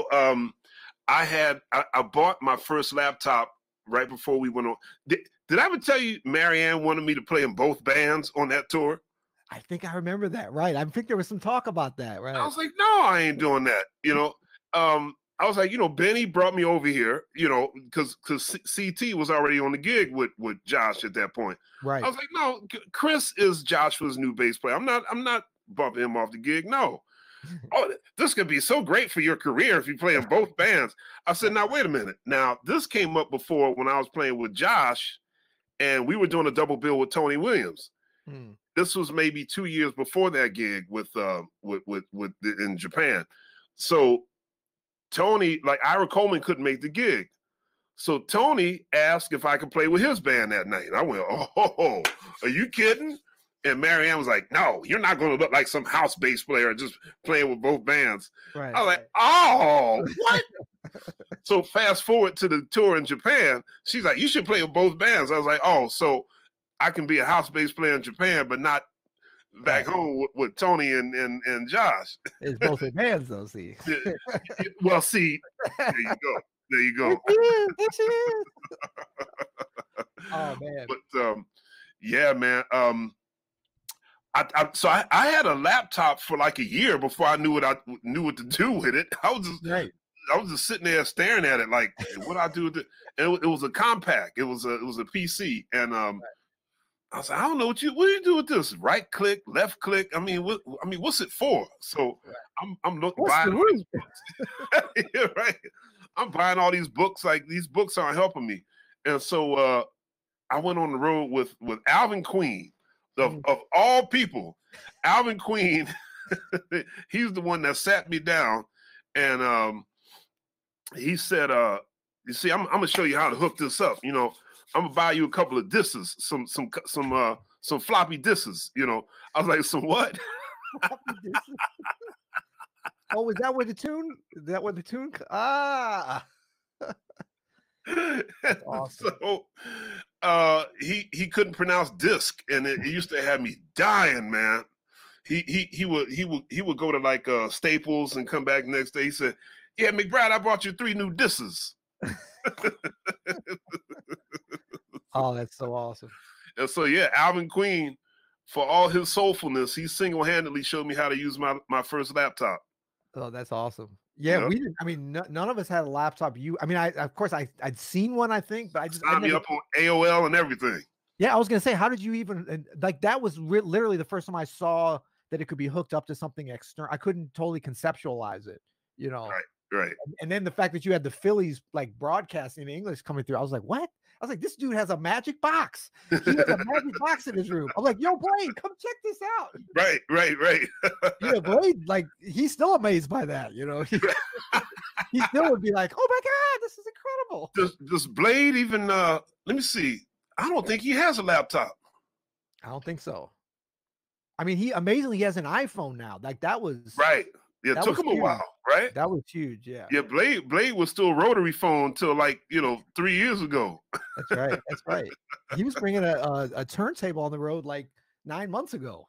I bought my first laptop right before we went on. Did I ever tell you Marianne wanted me to play in both bands on that tour? I think I remember that. Right. I think there was some talk about that. Right. I was like, no, I ain't doing that. I was like, Benny brought me over here, because CT was already on the gig with Josh at that point. Right. I was like, no, Chris is Joshua's new bass player. I'm not bumping him off the gig. No. Oh, this could be so great for your career if you play in both bands. I said, now, wait a minute. Now, this came up before when I was playing with Josh, and we were doing a double bill with Tony Williams. This was maybe 2 years before that gig with in Japan. So Tony, like Ira Coleman couldn't make the gig. So Tony asked if I could play with his band that night. I went, oh, are you kidding? And Marianne was like, no, you're not going to look like some house bass player just playing with both bands. Right. I was like, oh, what? So fast forward to the tour in Japan. She's like, you should play with both bands. I was like, oh, so I can be a house bass player in Japan, but not back home with Tony and Josh. It's both their bands, though, see. Well, see, there you go. There you go. There she is. Oh, man. But, yeah, man. So I had a laptop for like a year before I knew what to do with it. I was just sitting there staring at it like, what I do with it? And it was a compact. It was a PC, and I was like, I don't know what do you do with this? Right click, left click. I mean, what's it for? So I'm looking buying all these books. Yeah, right. I'm buying all these books. Like these books aren't helping me, and so I went on the road with Alvin Queen. Of all people, Alvin Queen, he's the one that sat me down, and he said, "You see, I'm gonna show you how to hook this up. I'm gonna buy you a couple of discs, some floppy discs. I was like, some what? Oh, is that where the tune? Is that where the tune? Ah, awesome. So he couldn't pronounce disc, and it used to have me dying, man. He would go to like Staples and come back next day. He said, "Yeah, McBride, I brought you 3 new discs." Oh, that's so awesome. And so yeah, Alvin Queen, for all his soulfulness, he single-handedly showed me how to use my first laptop. Oh, that's awesome. Yeah, Yep. we didn't. I mean, none of us had a laptop. I mean, of course, I'd seen one, I think, but I Signed me up on AOL and everything. Yeah, I was gonna say, how did you even like that? Was literally the first time I saw that it could be hooked up to something external. I couldn't totally conceptualize it, you know. Right. And then the fact that you had the Phillies like broadcasting in English coming through, I was like, what? I was like, this dude has a magic box. He has a magic box in his room. I'm like, yo, Blade, come check this out. Right. Yeah, Blade, like, he's still amazed by that, you know. He still would be like, oh my God, this is incredible. Does Blade even let me see. I don't think he has a laptop. I don't think so. I mean, he amazingly has an iPhone now. Like that was right. Yeah, it took him a while, right? That was huge, yeah. Yeah, Blade was still rotary phone till like 3 years ago. That's right. He was bringing a turntable on the road like 9 months ago.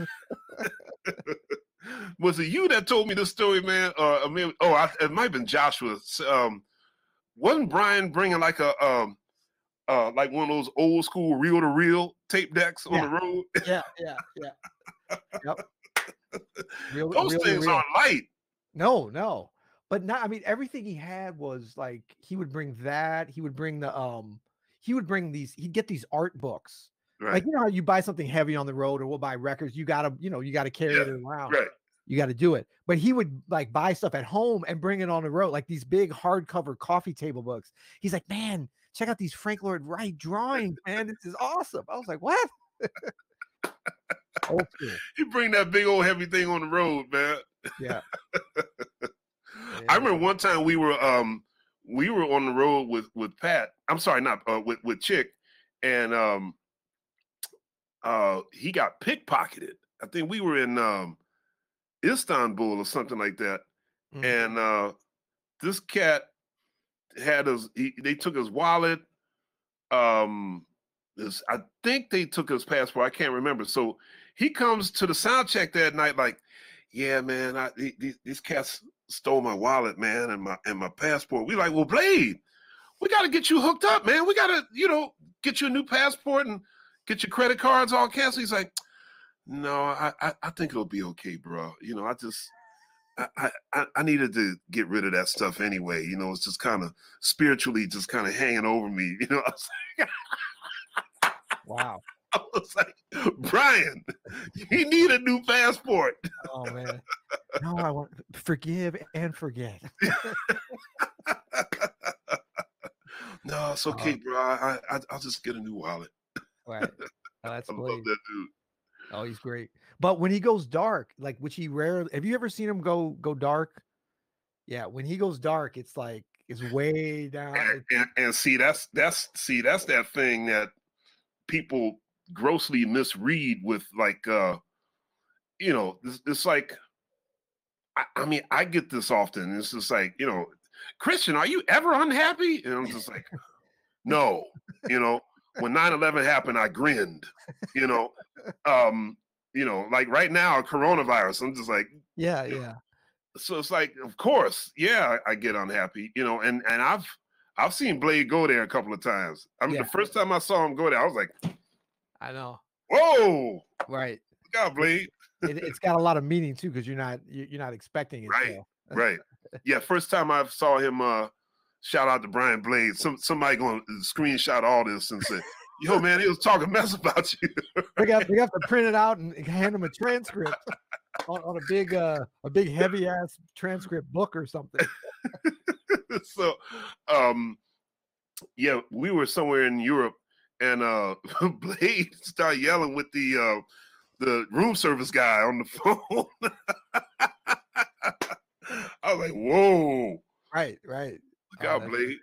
Was it you that told me this story, man? It might have been Joshua. Wasn't Brian bringing like like one of those old school reel-to-reel tape decks on the road? Yeah. Yep. Those things aren't light. No. But not, I mean, everything he had was like, he would bring that. He would bring he'd get these art books. Right. Like, you know how you buy something heavy on the road, or we'll buy records. You gotta carry it around. Right. You got to do it. But he would like buy stuff at home and bring it on the road, like these big hardcover coffee table books. He's like, man, check out these Frank Lloyd Wright drawings, man. This is awesome. I was like, what? Old school. You bring that big old heavy thing on the road, man. Yeah. I remember one time we were on the road with Pat. I'm sorry, not with Chick, and he got pickpocketed. I think we were in Istanbul or something like that, and this cat had they took his wallet. I think they took his passport. I can't remember. So he comes to the sound check that night, like, yeah, man, these cats stole my wallet, man, and my passport. We like, well, Blade, we got to get you hooked up, man. We got to, get you a new passport and get your credit cards all canceled. He's like, no, I think it'll be okay, bro. I needed to get rid of that stuff anyway. It's just kind of spiritually just kind of hanging over me. I was like, wow. I was like, Brian, you need a new passport. Oh man. No, I want forgive and forget. No, it's okay, bro. I'll just get a new wallet. Right. Oh, that's I Blade. love that dude. Oh, he's great. But when he goes dark, like, which he rarely, have you ever seen him go dark? Yeah, when he goes dark, it's like it's way down. And see, that's that thing that people grossly misread with, like, it's like, I mean, I get this often. It's just like, Christian, are you ever unhappy? And I'm just like, no, when 9/11 happened, I grinned, like right now, coronavirus, I'm just like, yeah. So it's like, of course, yeah, I get unhappy, and I've seen Blade go there a couple of times. I mean, the first time I saw him go there, I was like, I know. Whoa, right. Look out, Blade. It's got a lot of meaning too, because you're not expecting it. Right. So. Right. Yeah. First time I saw him, shout out to Brian Blade. Somebody going to screenshot all this and say, yo, man, he was talking mess about you. They have to print it out and hand him a transcript on a big heavy ass transcript book or something. So, yeah, we were somewhere in Europe, and Blade started yelling with the room service guy on the phone. I was like, whoa. Right. Look out, Blade.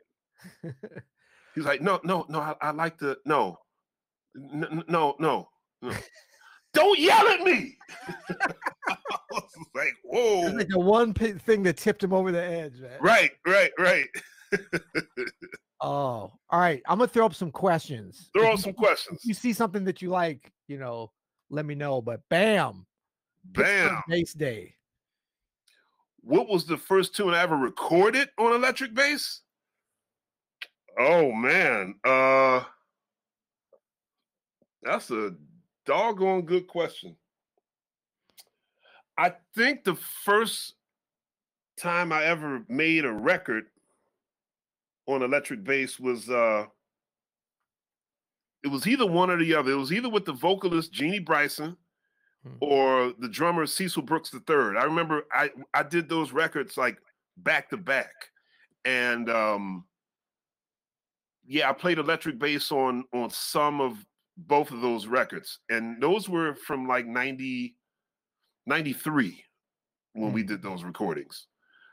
He's like, no, I like the, no. Don't yell at me. I was like, whoa. It's like the one thing that tipped him over the edge, man. Right. Oh, all right. I'm gonna throw up some questions. Throw up some questions. If you see something that you like, let me know. But bam. Pittsburgh Bass Day. What was the first tune I ever recorded on electric bass? Oh man. That's a doggone good question. I think the first time I ever made a record on electric bass was it was either one or the other. It was either with the vocalist Jeannie Bryson or the drummer Cecil Brooks III. I remember I did those records like back to back. And I played electric bass on some of both of those records. And those were from like 93 when we did those recordings.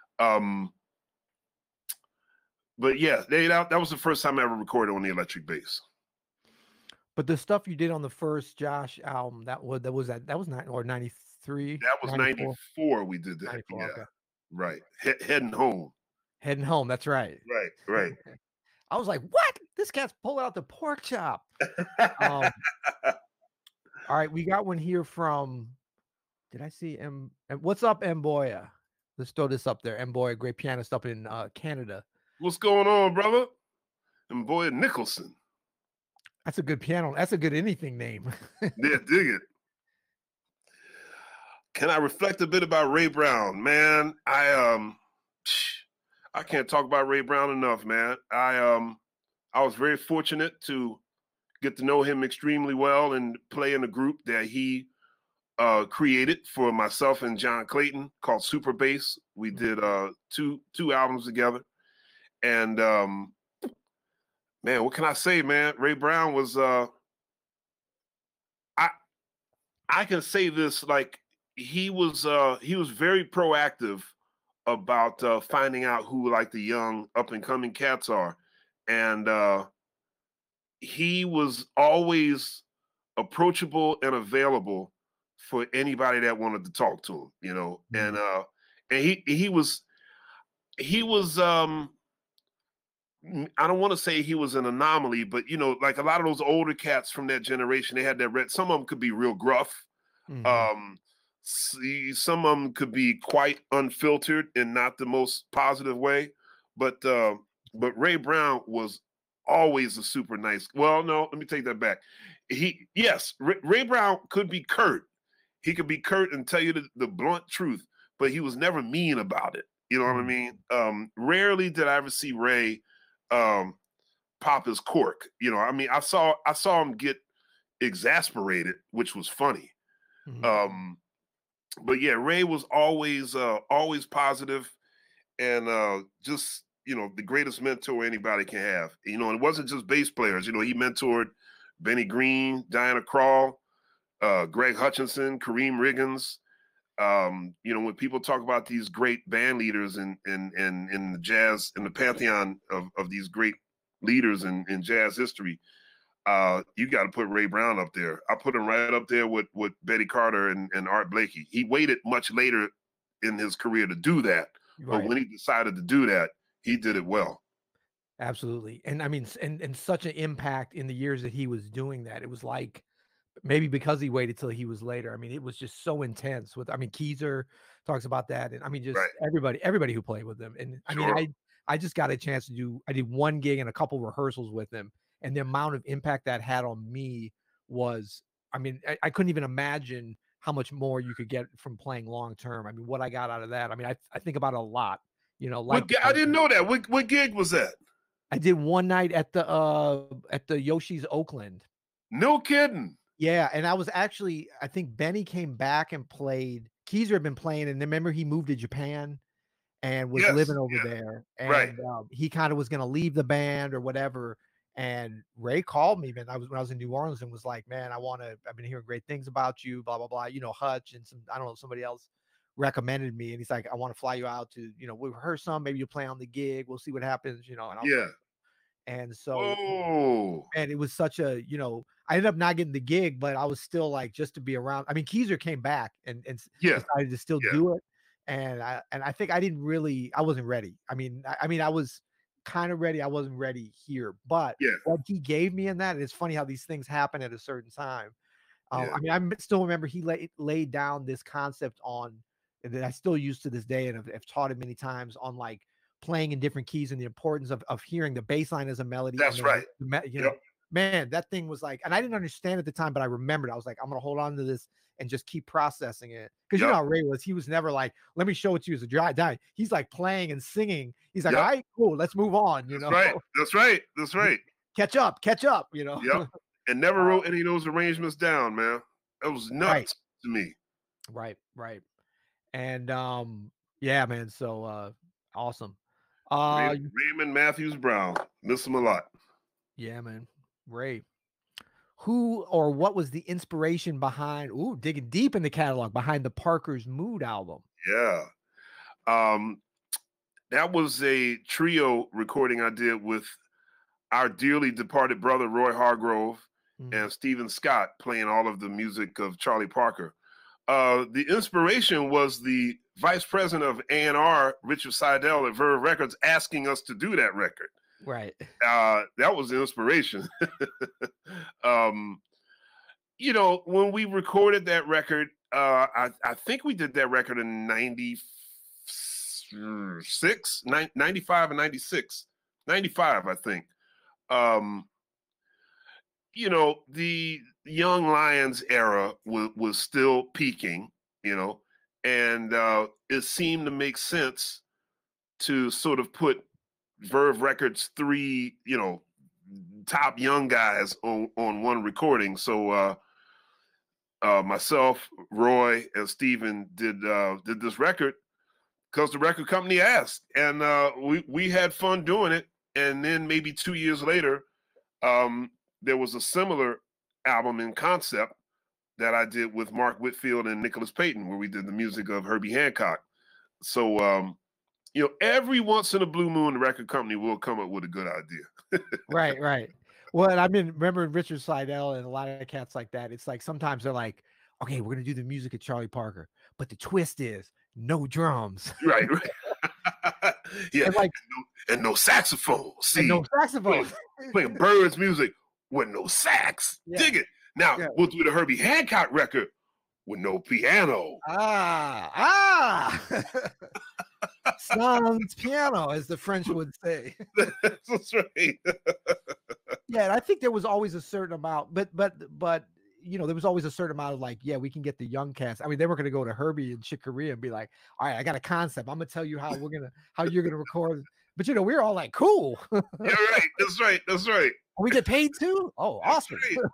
But yeah, that was the first time I ever recorded on the electric bass. But the stuff you did on the first Josh album, that was 93. That was 94. We did that. 94, yeah, okay. Right. Heading home. Heading home. That's right. Right. I was like, what? This cat's pulling out the pork chop. All right, we got one here from. Did I see M? What's up, Mboya? Let's throw this up there. Mboya, great pianist up in Canada. What's going on, brother? Mboya Nicholson. That's a good piano. That's a good anything name. Yeah, dig it. Can I reflect a bit about Ray Brown? Man, I can't talk about Ray Brown enough, man. I was very fortunate to get to know him extremely well and play in a group that he created for myself and John Clayton called Super Bass. We did two albums together. And man, what can I say, man? Ray Brown was I can say this, like he was very proactive about finding out who like the young up and coming cats are. And he was always approachable and available for anybody that wanted to talk to him, and he was I don't want to say he was an anomaly, but like a lot of those older cats from that generation, they had that some of them could be real gruff. Some of them could be quite unfiltered in not the most positive way, but Ray Brown was always a super nice. Well, no, let me take that back. Ray Brown could be curt. He could be curt and tell you the blunt truth, but he was never mean about it. You know what I mean? Rarely did I ever see Ray pop his cork. I saw him get exasperated, which was funny. But yeah, Ray was always positive and just the greatest mentor anybody can have. And it wasn't just bass players. He mentored Benny Green, Diana Krall, Greg Hutchinson, Kareem Riggins. When people talk about these great band leaders in the jazz, in the pantheon of these great leaders in jazz history, you got to put Ray Brown up there. I put him right up there with Betty Carter and Art Blakey. He waited much later in his career to do that, but when he decided to do that, he did it well. Absolutely. And I mean, and such an impact in the years that he was doing that. It was like, maybe because he waited till he was later. I mean, it was just so intense Keezer talks about that. And I mean, just everybody who played with him. And I mean, I just got a chance to I did one gig and a couple rehearsals with him. And the amount of impact that had on me was, I mean, I couldn't even imagine how much more you could get from playing long-term. I mean, what I got out of that. I mean, I think about it a lot, like I didn't know that. What gig was that? I did one night at the Yoshi's Oakland. No kidding. Yeah, and I was actually, I think Benny came back and played. Keezer had been playing, and remember he moved to Japan and was living over there. And he kind of was going to leave the band or whatever. And Ray called me, man. When I was in New Orleans and was like, man, I've been hearing great things about you, blah, blah, blah. Hutch and somebody else recommended me. And he's like, I want to fly you out to, we'll rehearse some, maybe you'll play on the gig. We'll see what happens, and I was like, and so, and it was such a, I ended up not getting the gig, but I was still like just to be around. I mean, Keezer came back and Yeah. decided to still Yeah. do it, and I think I wasn't ready. I mean, I was kind of ready. I wasn't ready here, but Yeah. what he gave me in that, and it's funny how these things happen at a certain time. Yeah. I mean, still remember he laid down this concept on that I still use to this day, and have taught it many times on like playing in different keys and the importance of hearing the bass line as a melody. That's and right. You know, man, that thing was like, and I didn't understand at the time, but I remembered. I was like, I'm gonna hold on to this and just keep processing it, because you know how Ray was. He was never like, let me show it to you as a dry die. He's like playing and singing. He's like, all right, cool, let's move on. You know, That's right. Catch up. You know. Yep. And never wrote any of those arrangements down, man. That was nuts to me. Right. And yeah, man. So awesome. Raymond Matthews Brown. Miss him a lot. Yeah, man. Ray. Who or what was the inspiration behind digging deep in the catalog behind the Parker's Mood album? Yeah. That was a trio recording I did with our dearly departed brother Roy Hargrove and Stephen Scott, playing all of the music of Charlie Parker. The inspiration was the vice president of A&R, Richard Seidel at Verve Records, asking us to do that record. Right. That was the inspiration. You know, when we recorded that record, I think we did that record in 96, 95 and 96. 95, I think. You know, the Young Lions era was still peaking, you know, and it seemed to make sense to sort of put Verve Records 3, you know, top young guys on one recording. So myself, Roy, and Steven did this record because the record company asked, and we had fun doing it. And then maybe 2 years later, there was a similar album in concept that I did with Mark Whitfield and Nicholas Payton, where we did the music of Herbie Hancock. So, you know, every once in a blue moon, the record company will come up with a good idea. Right. Well, and I mean, remember Richard Seidel and a lot of cats like that. It's like sometimes they're like, okay, we're going to do the music of Charlie Parker, but the twist is no drums. Right. Yeah. And like, and no saxophone. See, no saxophone. Playing Bird's music with no sax. Yeah. Dig it. Now, we'll do the Herbie Hancock record with no piano. Sans piano, as the French would say. That's right. Yeah, and I think there was always a certain amount, but you know, there was always a certain amount of like, yeah, we can get the young cast. I mean, they were going to go to Herbie and Chick Corea and be like, all right, I got a concept. I'm going to tell you how you're going to record. But you know, we were all like, cool. You're right. That's right. We get paid too? Oh, awesome.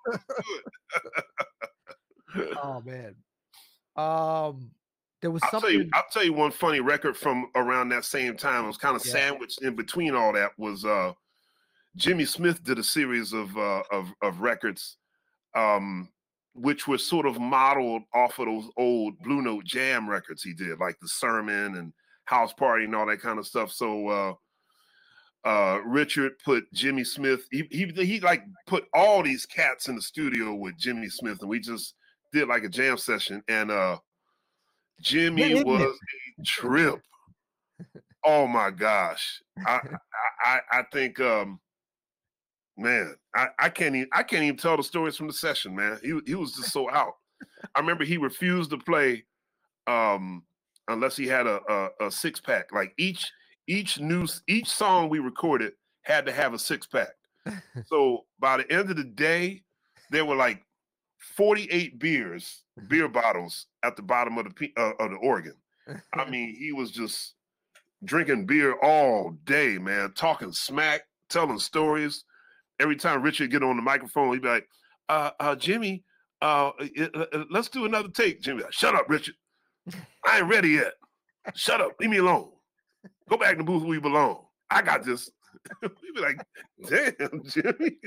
Right. Oh man. There was something. I'll tell you one funny record from around that same time. It was kind of sandwiched in between all that. Was Jimmy Smith did a series of records, which were sort of modeled off of those old Blue Note Jam records he did, like The Sermon and House Party and all that kind of stuff. So Richard put Jimmy Smith. He like put all these cats in the studio with Jimmy Smith, and we just did like a jam session. And Jimmy was a trip. Oh my gosh! I think, man, I can't even tell the stories from the session, man. He was just so out. I remember he refused to play unless he had a 6-pack. Like each song we recorded had to have a 6-pack. So by the end of the day, there were like 48 beer bottles at the bottom of the organ. I mean, he was just drinking beer all day, man, talking smack, telling stories. Every time Richard get on the microphone, he'd be like, Jimmy, let's do another take. Jimmy, like, shut up, Richard. I ain't ready yet. Shut up. Leave me alone. Go back in the booth where you belong. I got this. We'd be like, damn, Jimmy.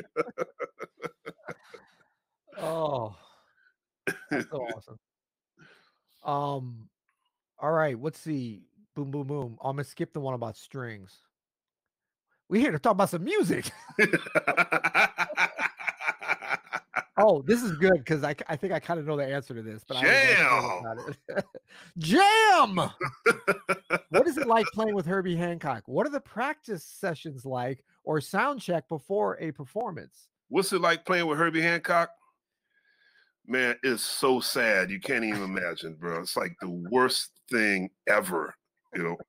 Oh, that's so awesome. All right, let's see. Boom, boom, boom. I'm gonna skip the one about strings. We're here to talk about some music. Oh, this is good because I think I kind of know the answer to this, but I was about it. Jam. What is it like playing with Herbie Hancock? What are the practice sessions like, or sound check before a performance? What's it like playing with Herbie Hancock? Man, it's so sad. You can't even imagine, bro. It's like the worst thing ever, you know.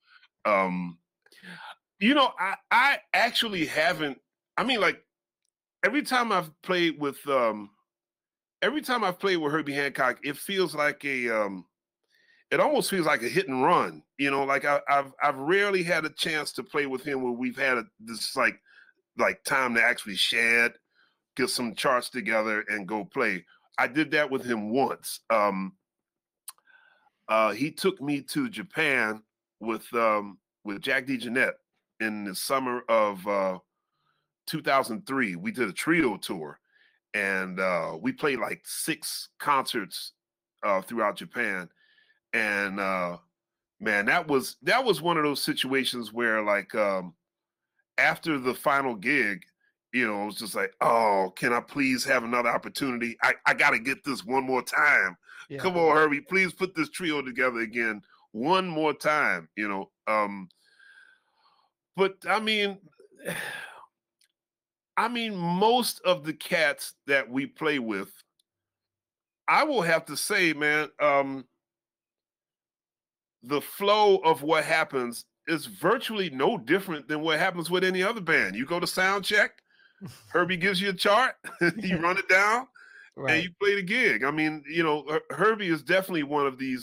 I actually haven't. I mean, like every time I've played with Herbie Hancock, it feels like it almost feels like a hit and run. You know, like I've rarely had a chance to play with him where we've had this like time to actually shed, get some charts together, and go play. I did that with him once. He took me to Japan with Jack DeJohnette in the summer of 2003. We did a trio tour, and we played like 6 concerts throughout Japan. And man, that was one of those situations where like after the final gig, you know, it was just like, oh, can I please have another opportunity? I got to get this one more time. Yeah. Come on, Herbie, please put this trio together again one more time, you know. But I mean, most of the cats that we play with, I will have to say, man, the flow of what happens is virtually no different than what happens with any other band. You go to sound check, Herbie gives you a chart, you run it down, right, and you play the gig. I mean, you know, Herbie is definitely one of these.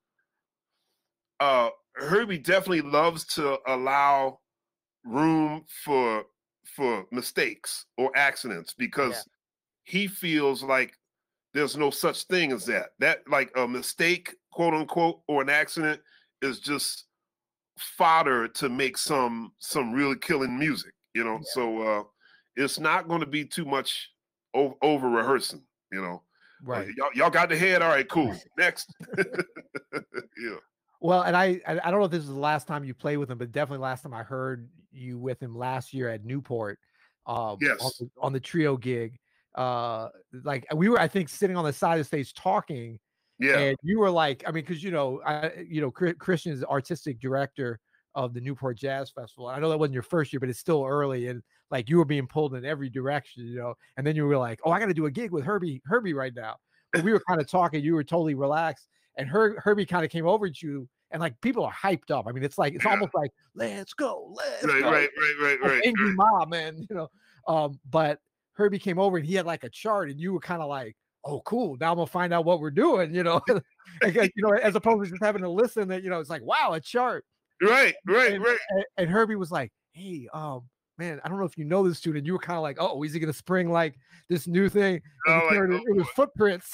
Herbie definitely loves to allow room for mistakes or accidents because he feels like there's no such thing as that. That like a mistake, quote unquote, or an accident is just fodder to make some really killing music, you know. Yeah. So it's not going to be too much over rehearsing, you know. Right. Y'all got the head. All right, cool. Next. Yeah. Well, and I don't know if this is the last time you played with him, but definitely last time I heard you with him last year at Newport. Yes. On the trio gig. Like we were, I think, sitting on the side of the stage talking. Yeah. And you were like, I mean, because Christian is the artistic director of the Newport Jazz Festival. I know that wasn't your first year, but it's still early, and like you were being pulled in every direction, you know. And then you were like, "Oh, I got to do a gig with Herbie right now." But we were kind of talking. You were totally relaxed, and Herbie kind of came over to you, and like people are hyped up. I mean, it's almost like, "Let's go, let's go!" Right. Angry mob, man, you know. But Herbie came over and he had like a chart, and you were kind of like, oh, cool. Now I'm gonna find out what we're doing, you know. As opposed to just having to listen. That, you know, it's like, wow, a chart. Right. And Herbie was like, hey, man, I don't know if you know this dude. And you were kind of like, oh, is he gonna spring like this new thing? And it was Footprints.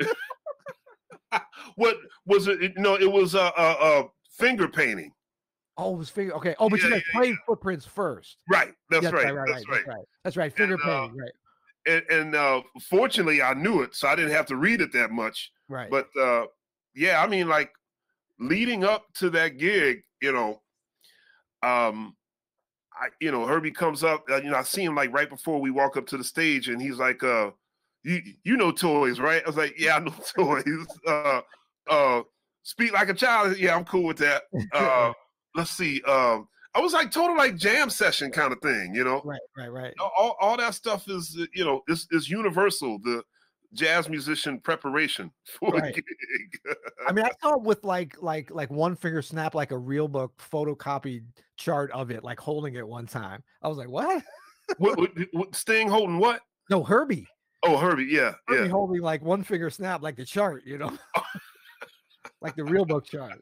What was it? No, it was finger painting. Oh, it was finger. Okay. Oh, but you guys played Footprints first. Right. That's right. That's right. Finger painting. Right. And fortunately, I knew it, so I didn't have to read it that much. Right. But yeah, I mean, like leading up to that gig, you know, Herbie comes up. I see him like right before we walk up to the stage, and he's like, "You know Toys, right?" I was like, "Yeah, I know Toys." Speak Like a Child. Yeah, I'm cool with that. Let's see. I was like total like jam session kind of thing, you know. Right. All that stuff is, you know, is universal. The jazz musician preparation for a gig. I mean, I saw it with like one finger snap, like a real book photocopied chart of it, like holding it one time. I was like, what? what Sting holding what? No, Herbie. Oh, Herbie, yeah. Herbie holding like one finger snap, like the chart, you know. Like the real book chart.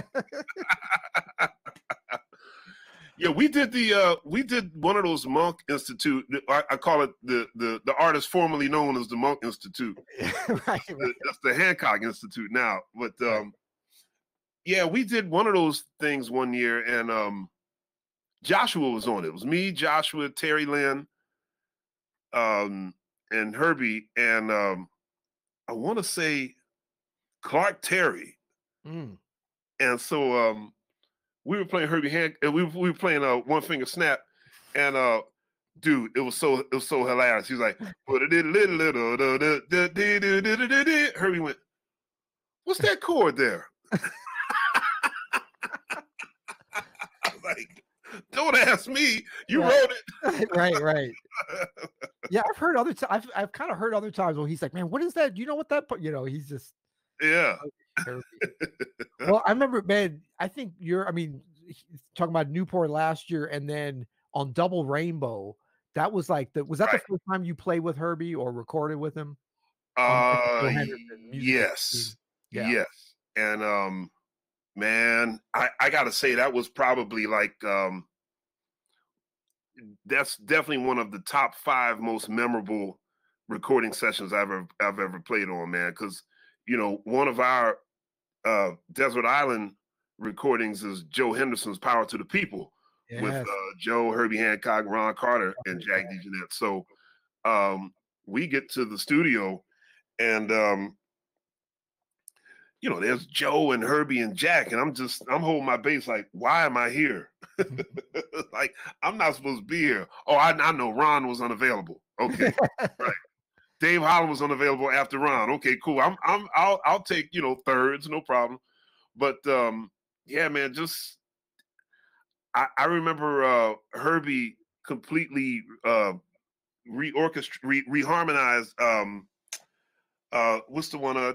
Yeah, we did one of those Monk Institute. I call it the artist formerly known as the Monk Institute. Right. That's the Hancock Institute now. But yeah, we did one of those things one year, and Joshua was on it. It was me, Joshua, Terry Lynn, and Herbie, and I want to say Clark Terry. Mm. And so we were playing Herbie Hancock, and we were playing One Finger Snap, and dude, it was so hilarious. He was like, put it in little. Herbie went, what's that chord there? I was like, don't ask me. You wrote it. Right. Yeah, I've heard other times. I've kind of heard other times where he's like, man, what is that? You know what that? He's just Well, I remember, man. I think talking about Newport last year, and then on Double Rainbow, that was like was that the first time you played with Herbie or recorded with him? Yes. And man, I gotta say that was probably like that's definitely one of the top 5 most memorable recording sessions I've ever played on, man. Because one of our Desert Island recordings is Joe Henderson's "Power to the People" with Joe, Herbie Hancock, Ron Carter, and Jack DeJohnette. So we get to the studio, and there's Joe and Herbie and Jack, and I'm holding my bass like, why am I here? Like, I'm not supposed to be here. Oh, I know Ron was unavailable. Okay, right. Dave Holland was unavailable after Ron. Okay, cool. I'll take thirds, no problem. But yeah, man, just I remember Herbie completely reharmonized. What's the one?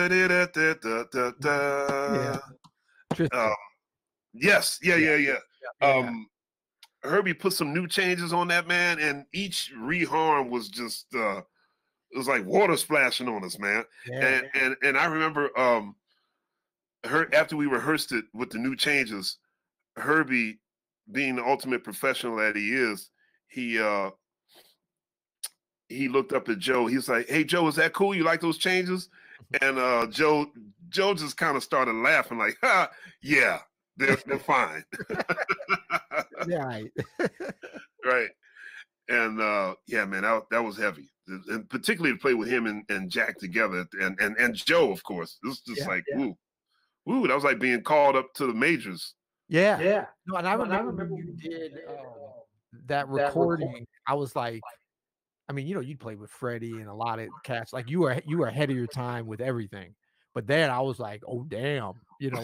Yes, yeah. Herbie put some new changes on that, man, and each reharm was just it was like water splashing on us, man. And I remember after we rehearsed it with the new changes, Herbie, being the ultimate professional that he is, he looked up at Joe. He's like, "Hey, Joe, is that cool? You like those changes?" And Joe just kind of started laughing, like, "Ha, yeah, they're fine." Right. Right. And yeah, man, that was heavy, and particularly to play with him and Jack together, and Joe, of course. This was just woo. That was like being called up to the majors. Yeah. No, and I remember when you did that recording. I was like, I mean, you'd play with Freddie and a lot of cats. Like you were ahead of your time with everything. But then I was like, oh damn,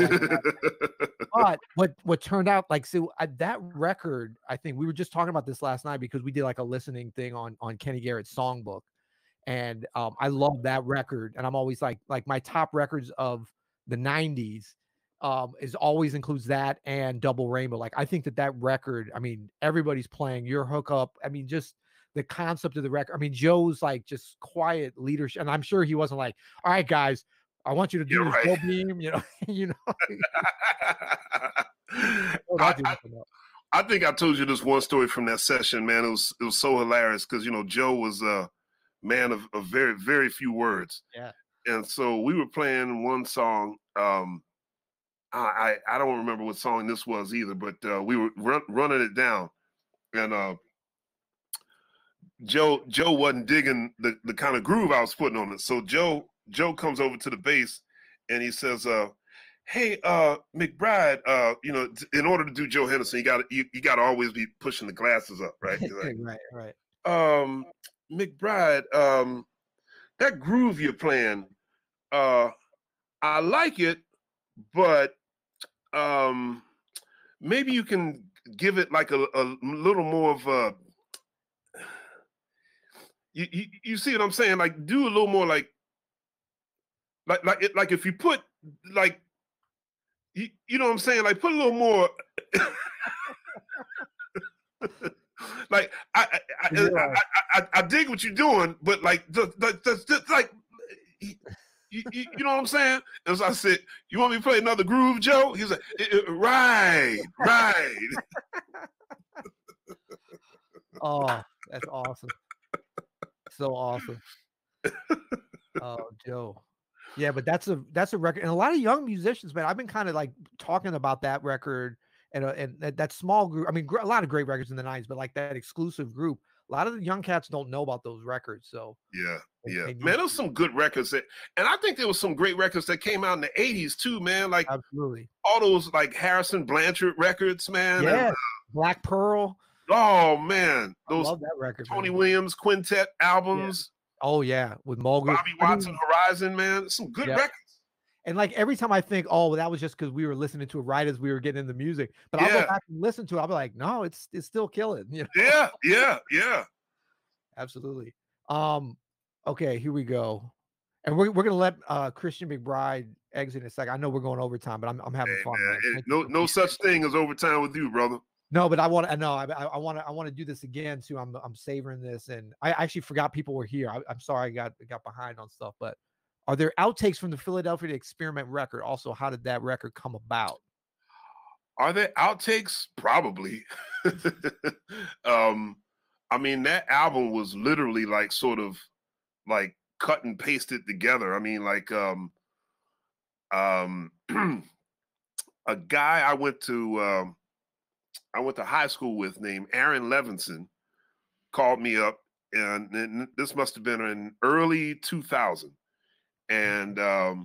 but what turned out, like, so that record, I think we were just talking about this last night because we did like a listening thing on Kenny Garrett's songbook, and I love that record, and I'm always like my top records of the 90s is always includes that and Double Rainbow. Like, I think that record, I mean, everybody's playing Your Hookup. I mean, just the concept of the record. I mean, Joe's like just quiet leadership, and I'm sure he wasn't like, all right, guys, I want you to do this Joe Beam, I think I told you this one story from that session, man. It was so hilarious because Joe was a man of very, very few words. Yeah. And so we were playing one song. I don't remember what song this was either, but we were running it down, and Joe wasn't digging the kind of groove I was putting on it. So Joe comes over to the bass and he says, "Hey, McBride, in order to do Joe Henderson, you got to always be pushing the glasses up, right?" He's like, right. McBride, that groove you're playing, I like it, but maybe you can give it like a little more of a. You see what I'm saying? Like, do a little more like if you put like, you know what I'm saying? Like, put a little more. Like, I dig what you're doing, but like, just like, you know what I'm saying? And so I said, "You want me to play another groove, Joe?" He's like, right. Oh, that's awesome. So awesome. Oh, Joe. Yeah, but that's a record, and a lot of young musicians, man. I've been kind of like talking about that record and that small group. I mean, a lot of great records in the 90s, but like that exclusive group, a lot of the young cats don't know about those records. So yeah, man, there's some good records and I think there was some great records that came out in the 80s too, man. Like, absolutely, all those like Harrison Blanchard records, man. Yeah, and, Black Pearl. Oh man, I those love that record. Tony Man. Williams quintet albums. Oh yeah, with Mulgrew. Bobby Watson, Horizon, man, some good records. And like every time I think, oh, that was just because we were listening to it right as we were getting into music. But I'll go back and listen to it. I'll be like, no, it's still killing. You know? Yeah. Absolutely. Okay, here we go. And we're gonna let Christian McBride exit in a second. I know we're going overtime, but I'm having fun. Man. No such thing as overtime with you, brother. No, but I want to do this again too. I'm savoring this, and I actually forgot people were here. I'm sorry I got behind on stuff, but are there outtakes from the Philadelphia Experiment record? Also, how did that record come about? Are there outtakes? Probably. I mean, that album was literally like sort of like cut and pasted together. I mean, like a guy I went to high school with named Aaron Levinson called me up, and this must have been in early 2000. And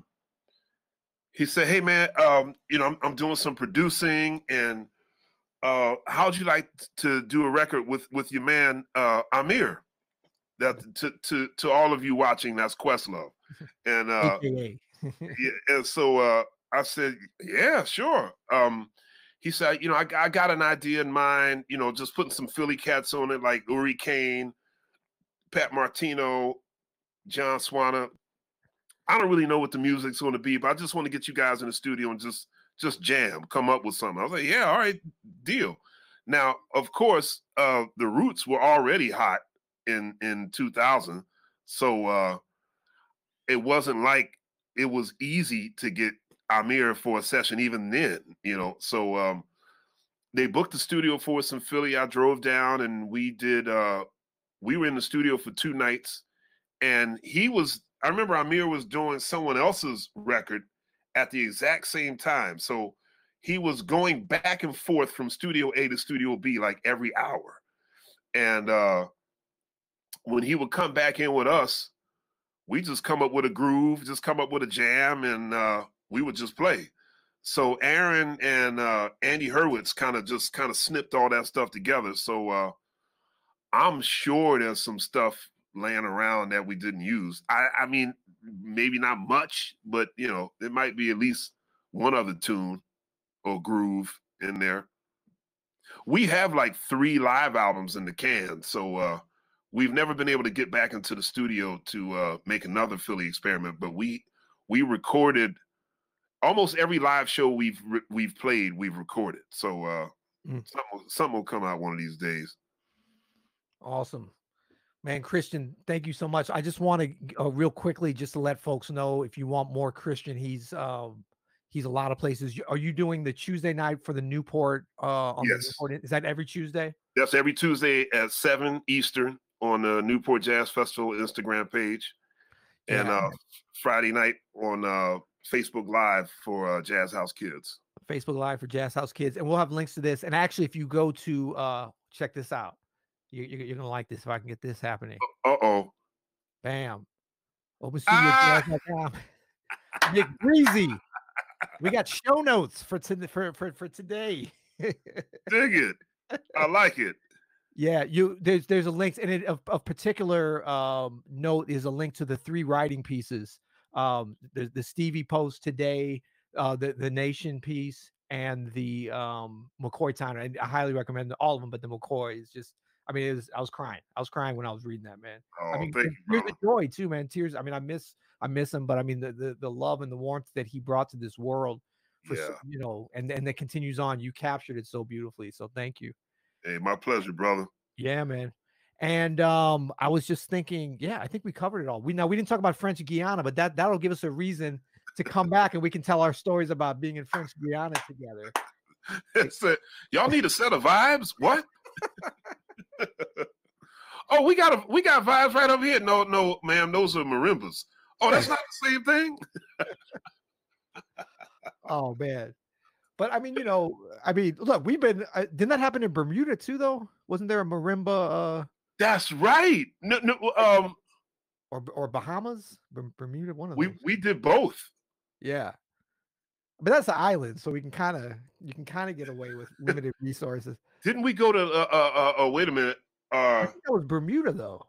he said, "Hey man, you know, I'm doing some producing, and how'd you like to do a record with your man Amir? That to all of you watching, that's Questlove." And yeah, and so I said, "Yeah, sure." He said, "You know, I got an idea in mind. You know, just putting some Philly cats on it, like Uri Kane, Pat Martino, John Swanner. I don't really know what the music's going to be, but I just want to get you guys in the studio and just jam, come up with something." I was like, "Yeah, all right, deal." Now, of course, the Roots were already hot in 2000, so it wasn't like it was easy to get Amir for a session even then, you know. So they booked the studio for us in Philly. I drove down and we were in the studio for 2 nights, and I remember Amir was doing someone else's record at the exact same time. So he was going back and forth from Studio A to Studio B like every hour. And when he would come back in with us, we just come up with a groove, just come up with a jam, and we would just play. So Aaron and Andy Hurwitz kind of snipped all that stuff together. So I'm sure there's some stuff laying around that we didn't use. I mean, maybe not much, but you know, there might be at least one other tune or groove in there. We have like 3 live albums in the can, so we've never been able to get back into the studio to make another Philly Experiment. But we recorded almost every live show we've played. We've recorded, so something will come out one of these days. Awesome. Man, Christian, thank you so much. I just want to real quickly just to let folks know, if you want more Christian, he's a lot of places. Are you doing the Tuesday night for the Newport? On yes. The Newport? Is that every Tuesday? That's every Tuesday at 7 Eastern on the Newport Jazz Festival Instagram page, and Friday night on Facebook Live for Jazz House Kids. Facebook Live for Jazz House Kids, and we'll have links to this. And actually, if you go to check this out. You're gonna like this if I can get this happening. Bam. OpenStudio.com. Nick Breezy. We got show notes for today. Dig it. I like it. Yeah, there's a link, and it of particular note is a link to the 3 writing pieces. The Stevie post today, the Nation piece, and the McCoy Tyner. And I highly recommend all of them, but the McCoy is just, I mean, I was crying. I was crying when I was reading that, man. Oh, I mean, thank you, tears of joy too, man. Tears. I mean, I miss him, but I mean, the love and the warmth that he brought to this world, you know, and that continues on. You captured it so beautifully. So thank you. Hey, my pleasure, brother. Yeah, man. And I was just thinking, yeah, I think we covered it all. We didn't talk about French Guiana, but that'll give us a reason to come back and we can tell our stories about being in French Guiana together. Y'all need a set of vibes? What? Oh, we got vibes right over here. No, ma'am, those are marimbas. Oh, that's not the same thing. Oh man, but I mean, you know, look, we've been. Didn't that happen in Bermuda too, though? Wasn't there a marimba? That's right. No. Or Bahamas, Bermuda. One of those. We did both. Yeah, but that's an island, so you can kind of get away with limited resources. Didn't we go to? Wait a minute. I think that was Bermuda though.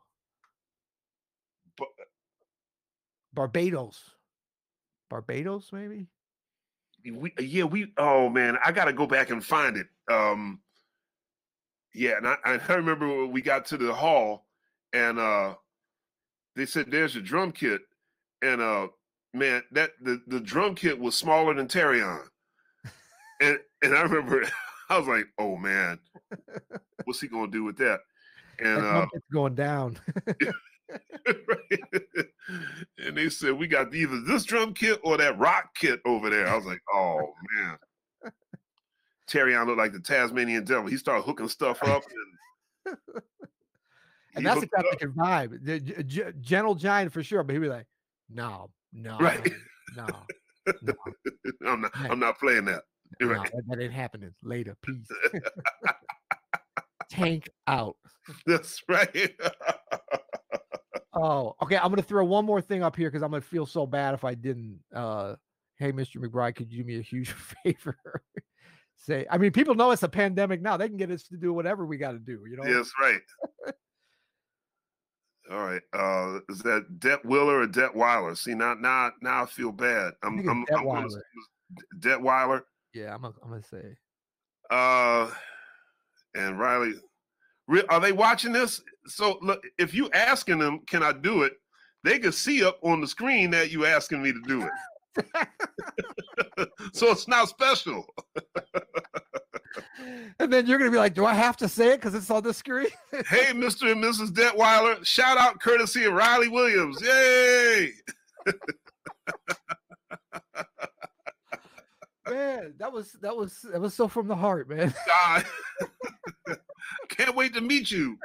Barbados, maybe. Oh man, I got to go back and find it. Yeah, and I remember when we got to the hall, and they said, "There's your drum kit," and man, that the drum kit was smaller than Terrion, and I remember I was like, "Oh man, what's he gonna do with that?" And that kit's going down. right. And they said, "We got either this drum kit or that rock kit over there." I was like, "Oh man." Terrion looked like the Tasmanian devil. He started hooking stuff up, and that's exactly the vibe. The gentle giant for sure, but he'd be like, "No, right, no, I'm not playing that. Right. That ain't happening. Later, peace." Tank out. That's right. Oh, okay. I'm gonna throw one more thing up here because I'm gonna feel so bad if I didn't. Hey, Mr. McBride, could you do me a huge favor? I mean, people know it's a pandemic now. They can get us to do whatever we got to do, you know? Yes, right. All right. Is that Detwiller or Detweiler? See, now I feel bad. I'm Detweiler. Yeah, I'm gonna say. And Riley, are they watching this? So look, if you asking them, can I do it? They can see up on the screen that you asking me to do it. So it's not special. And then you're gonna be like, do I have to say it because it's on the screen? Hey, Mr. and Mrs. Detweiler, shout out courtesy of Riley Williams. Yay! Man, that was so from the heart, man. Can't wait to meet you.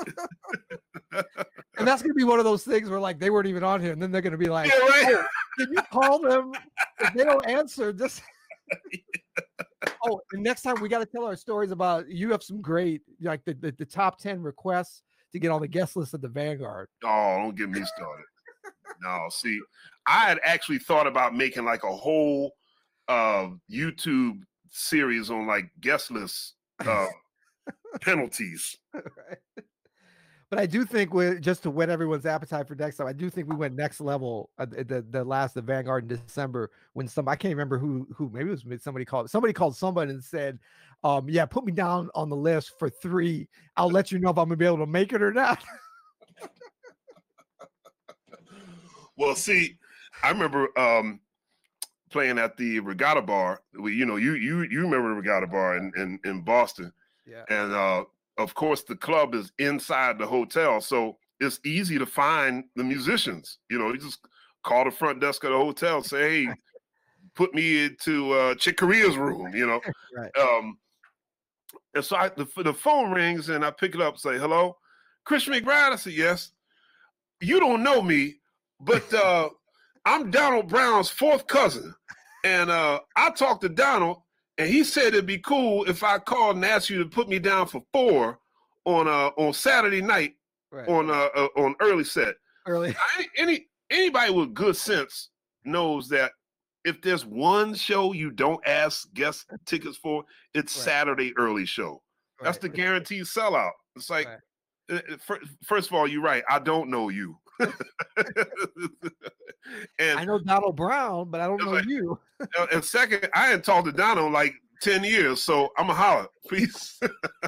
And that's gonna be one of those things where like they weren't even on here, and then they're gonna be like, yeah, right. "Oh, can you call them? If they don't answer, just." Oh, and next time we got to tell our stories about you have some great like the top 10 requests to get on the guest list of the Vanguard. Oh, don't get me started. No, see, I had actually thought about making like a whole YouTube series on like guest list penalties. Right. But I do think just to whet everyone's appetite for next time, I do think we went next level at the Vanguard in December when I can't remember who maybe it was somebody called somebody and said, yeah, put me down on the list for 3. I'll let you know if I'm gonna be able to make it or not. Well, see, I remember playing at the Regatta Bar. You remember the Regatta Bar in Boston. Yeah. And of course, the club is inside the hotel, so it's easy to find the musicians. You just call the front desk of the hotel, say, "Hey, put me into Chick Corea's room." Right. And so the phone rings, and I pick it up, and say, "Hello, Christian McBride." I said, "Yes." "You don't know me, but I'm Donald Brown's 4th cousin, and I talked to Donald. And he said it'd be cool if I called and asked you to put me down for 4 on Saturday night, right, on early set." Early. Anybody with good sense knows that if there's one show you don't ask guest tickets for, it's right, Saturday early show. Right. That's the guaranteed sellout. It's like, right, first of all, you're right. I don't know you. And I know Donald Brown, but I don't know you. And second, I hadn't talked to Donald in like 10 years, so I'm a holler, please.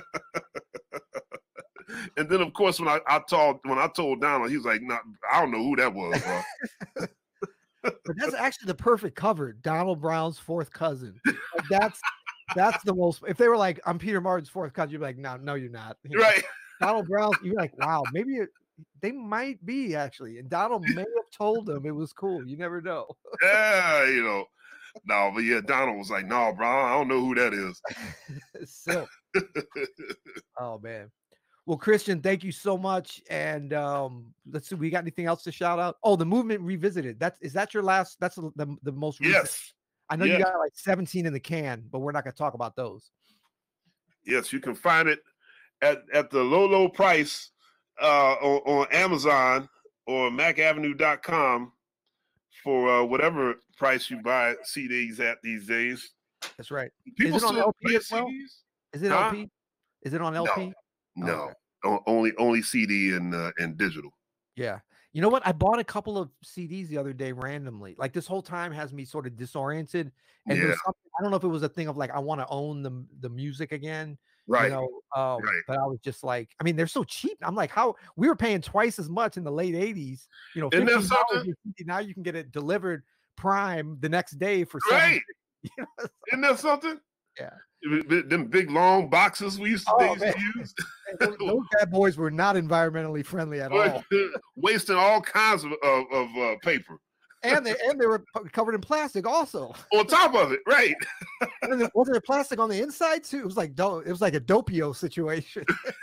And then, of course, when I told Donald, he was like, "No, I don't know who that was." But that's actually the perfect cover. Donald Brown's 4th cousin. That's the most. If they were like, "I'm Peter Martin's 4th cousin," you'd be like, "No, you're not." Right. Donald Brown, you're like, "Wow, maybe they might be actually." And Donald may have told them it was cool. You never know. Yeah, No, but yeah, Donald was like, "No, bro, I don't know who that is." So, oh man. Well, Christian, thank you so much. And let's see, we got anything else to shout out? Oh, the Movement Revisited. Is that your last? That's the most recent. Yes. I know you got like 17 in the can, but we're not going to talk about those. Yes, you can find it at the low price on Amazon or macavenue.com for whatever price you buy CDs at these days. That's right. People is it on still LP as well? CDs? Is it LP? Is it on LP? No. Okay. Only CD and digital. Yeah. You know what? I bought a couple of CDs the other day randomly. Like this whole time has me sort of disoriented. And Yeah. there's something, I don't know if it was a thing of like I want to own the music again. Right. But I was just like, I mean, they're so cheap. I'm like, how we were paying twice as much in the late 80s, Isn't that $15. something? Now you can get it delivered Prime the next day for Right. $7. Isn't that something? Yeah. Them big long boxes they used to use. Those bad boys were not environmentally friendly at all. Wasting all kinds of paper. And they were covered in plastic also. On top of it, right. And wasn't there plastic on the inside too? It was like a Doppio situation.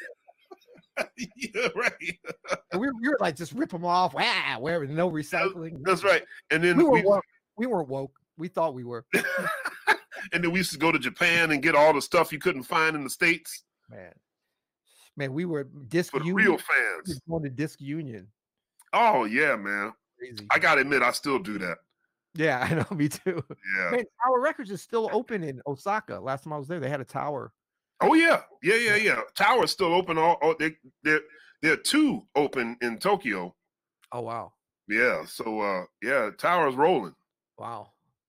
Yeah, right. And we were like just rip them off. Wow, where no recycling. That's right. And then we weren't woke. We thought we were. And then we used to go to Japan and get all the stuff you couldn't find in the States. Man, we were Disc for the Union. real fans. Going to Disc Union. Oh yeah, man. Crazy. I gotta admit, I still do that. Yeah, I know, me too. Yeah. Man, Tower Records is still open in Osaka. Last time I was there, they had a tower. Oh yeah. Tower's still open. There are two open in Tokyo. Oh wow. Yeah. So Tower's rolling. Wow.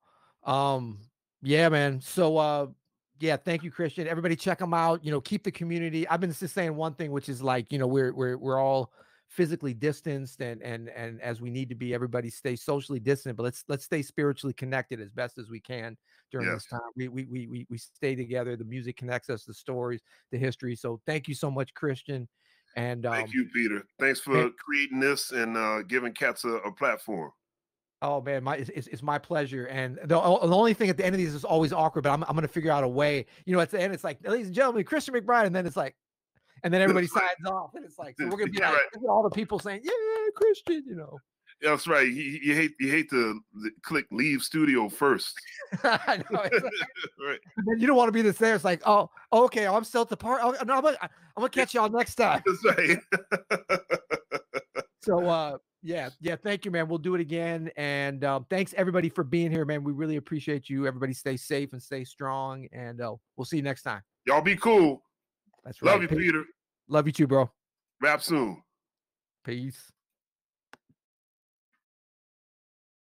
Yeah, man. So yeah, thank you, Christian. Everybody check them out. Keep the community. I've been just saying one thing, which is like, we're all physically distanced and as we need to be, everybody stay socially distant, but let's stay spiritually connected as best as we can during this time. We stay together. The music connects us, the stories, the history. So thank you so much, Christian. And thank you, Peter. Thanks for creating this and giving cats a platform. Oh man, it's my pleasure. And the only thing at the end of these is always awkward, but I'm going to figure out a way. At the end, it's like, ladies and gentlemen, Christian McBride, and then it's like, and then everybody signs off, and it's like, so we're gonna be like all the people saying, "Yeah, Christian," That's right. You hate to click leave studio first. I know. Right. And then you don't want to be this there. It's like, oh, okay, I'm still at the part. Oh, no, I'm gonna catch y'all next time. That's right. So, yeah. Thank you, man. We'll do it again. And thanks everybody for being here, man. We really appreciate you. Everybody, stay safe and stay strong. And we'll see you next time. Y'all be cool. That's right. Love you, Peter. Love you too, bro. Rap soon. Peace.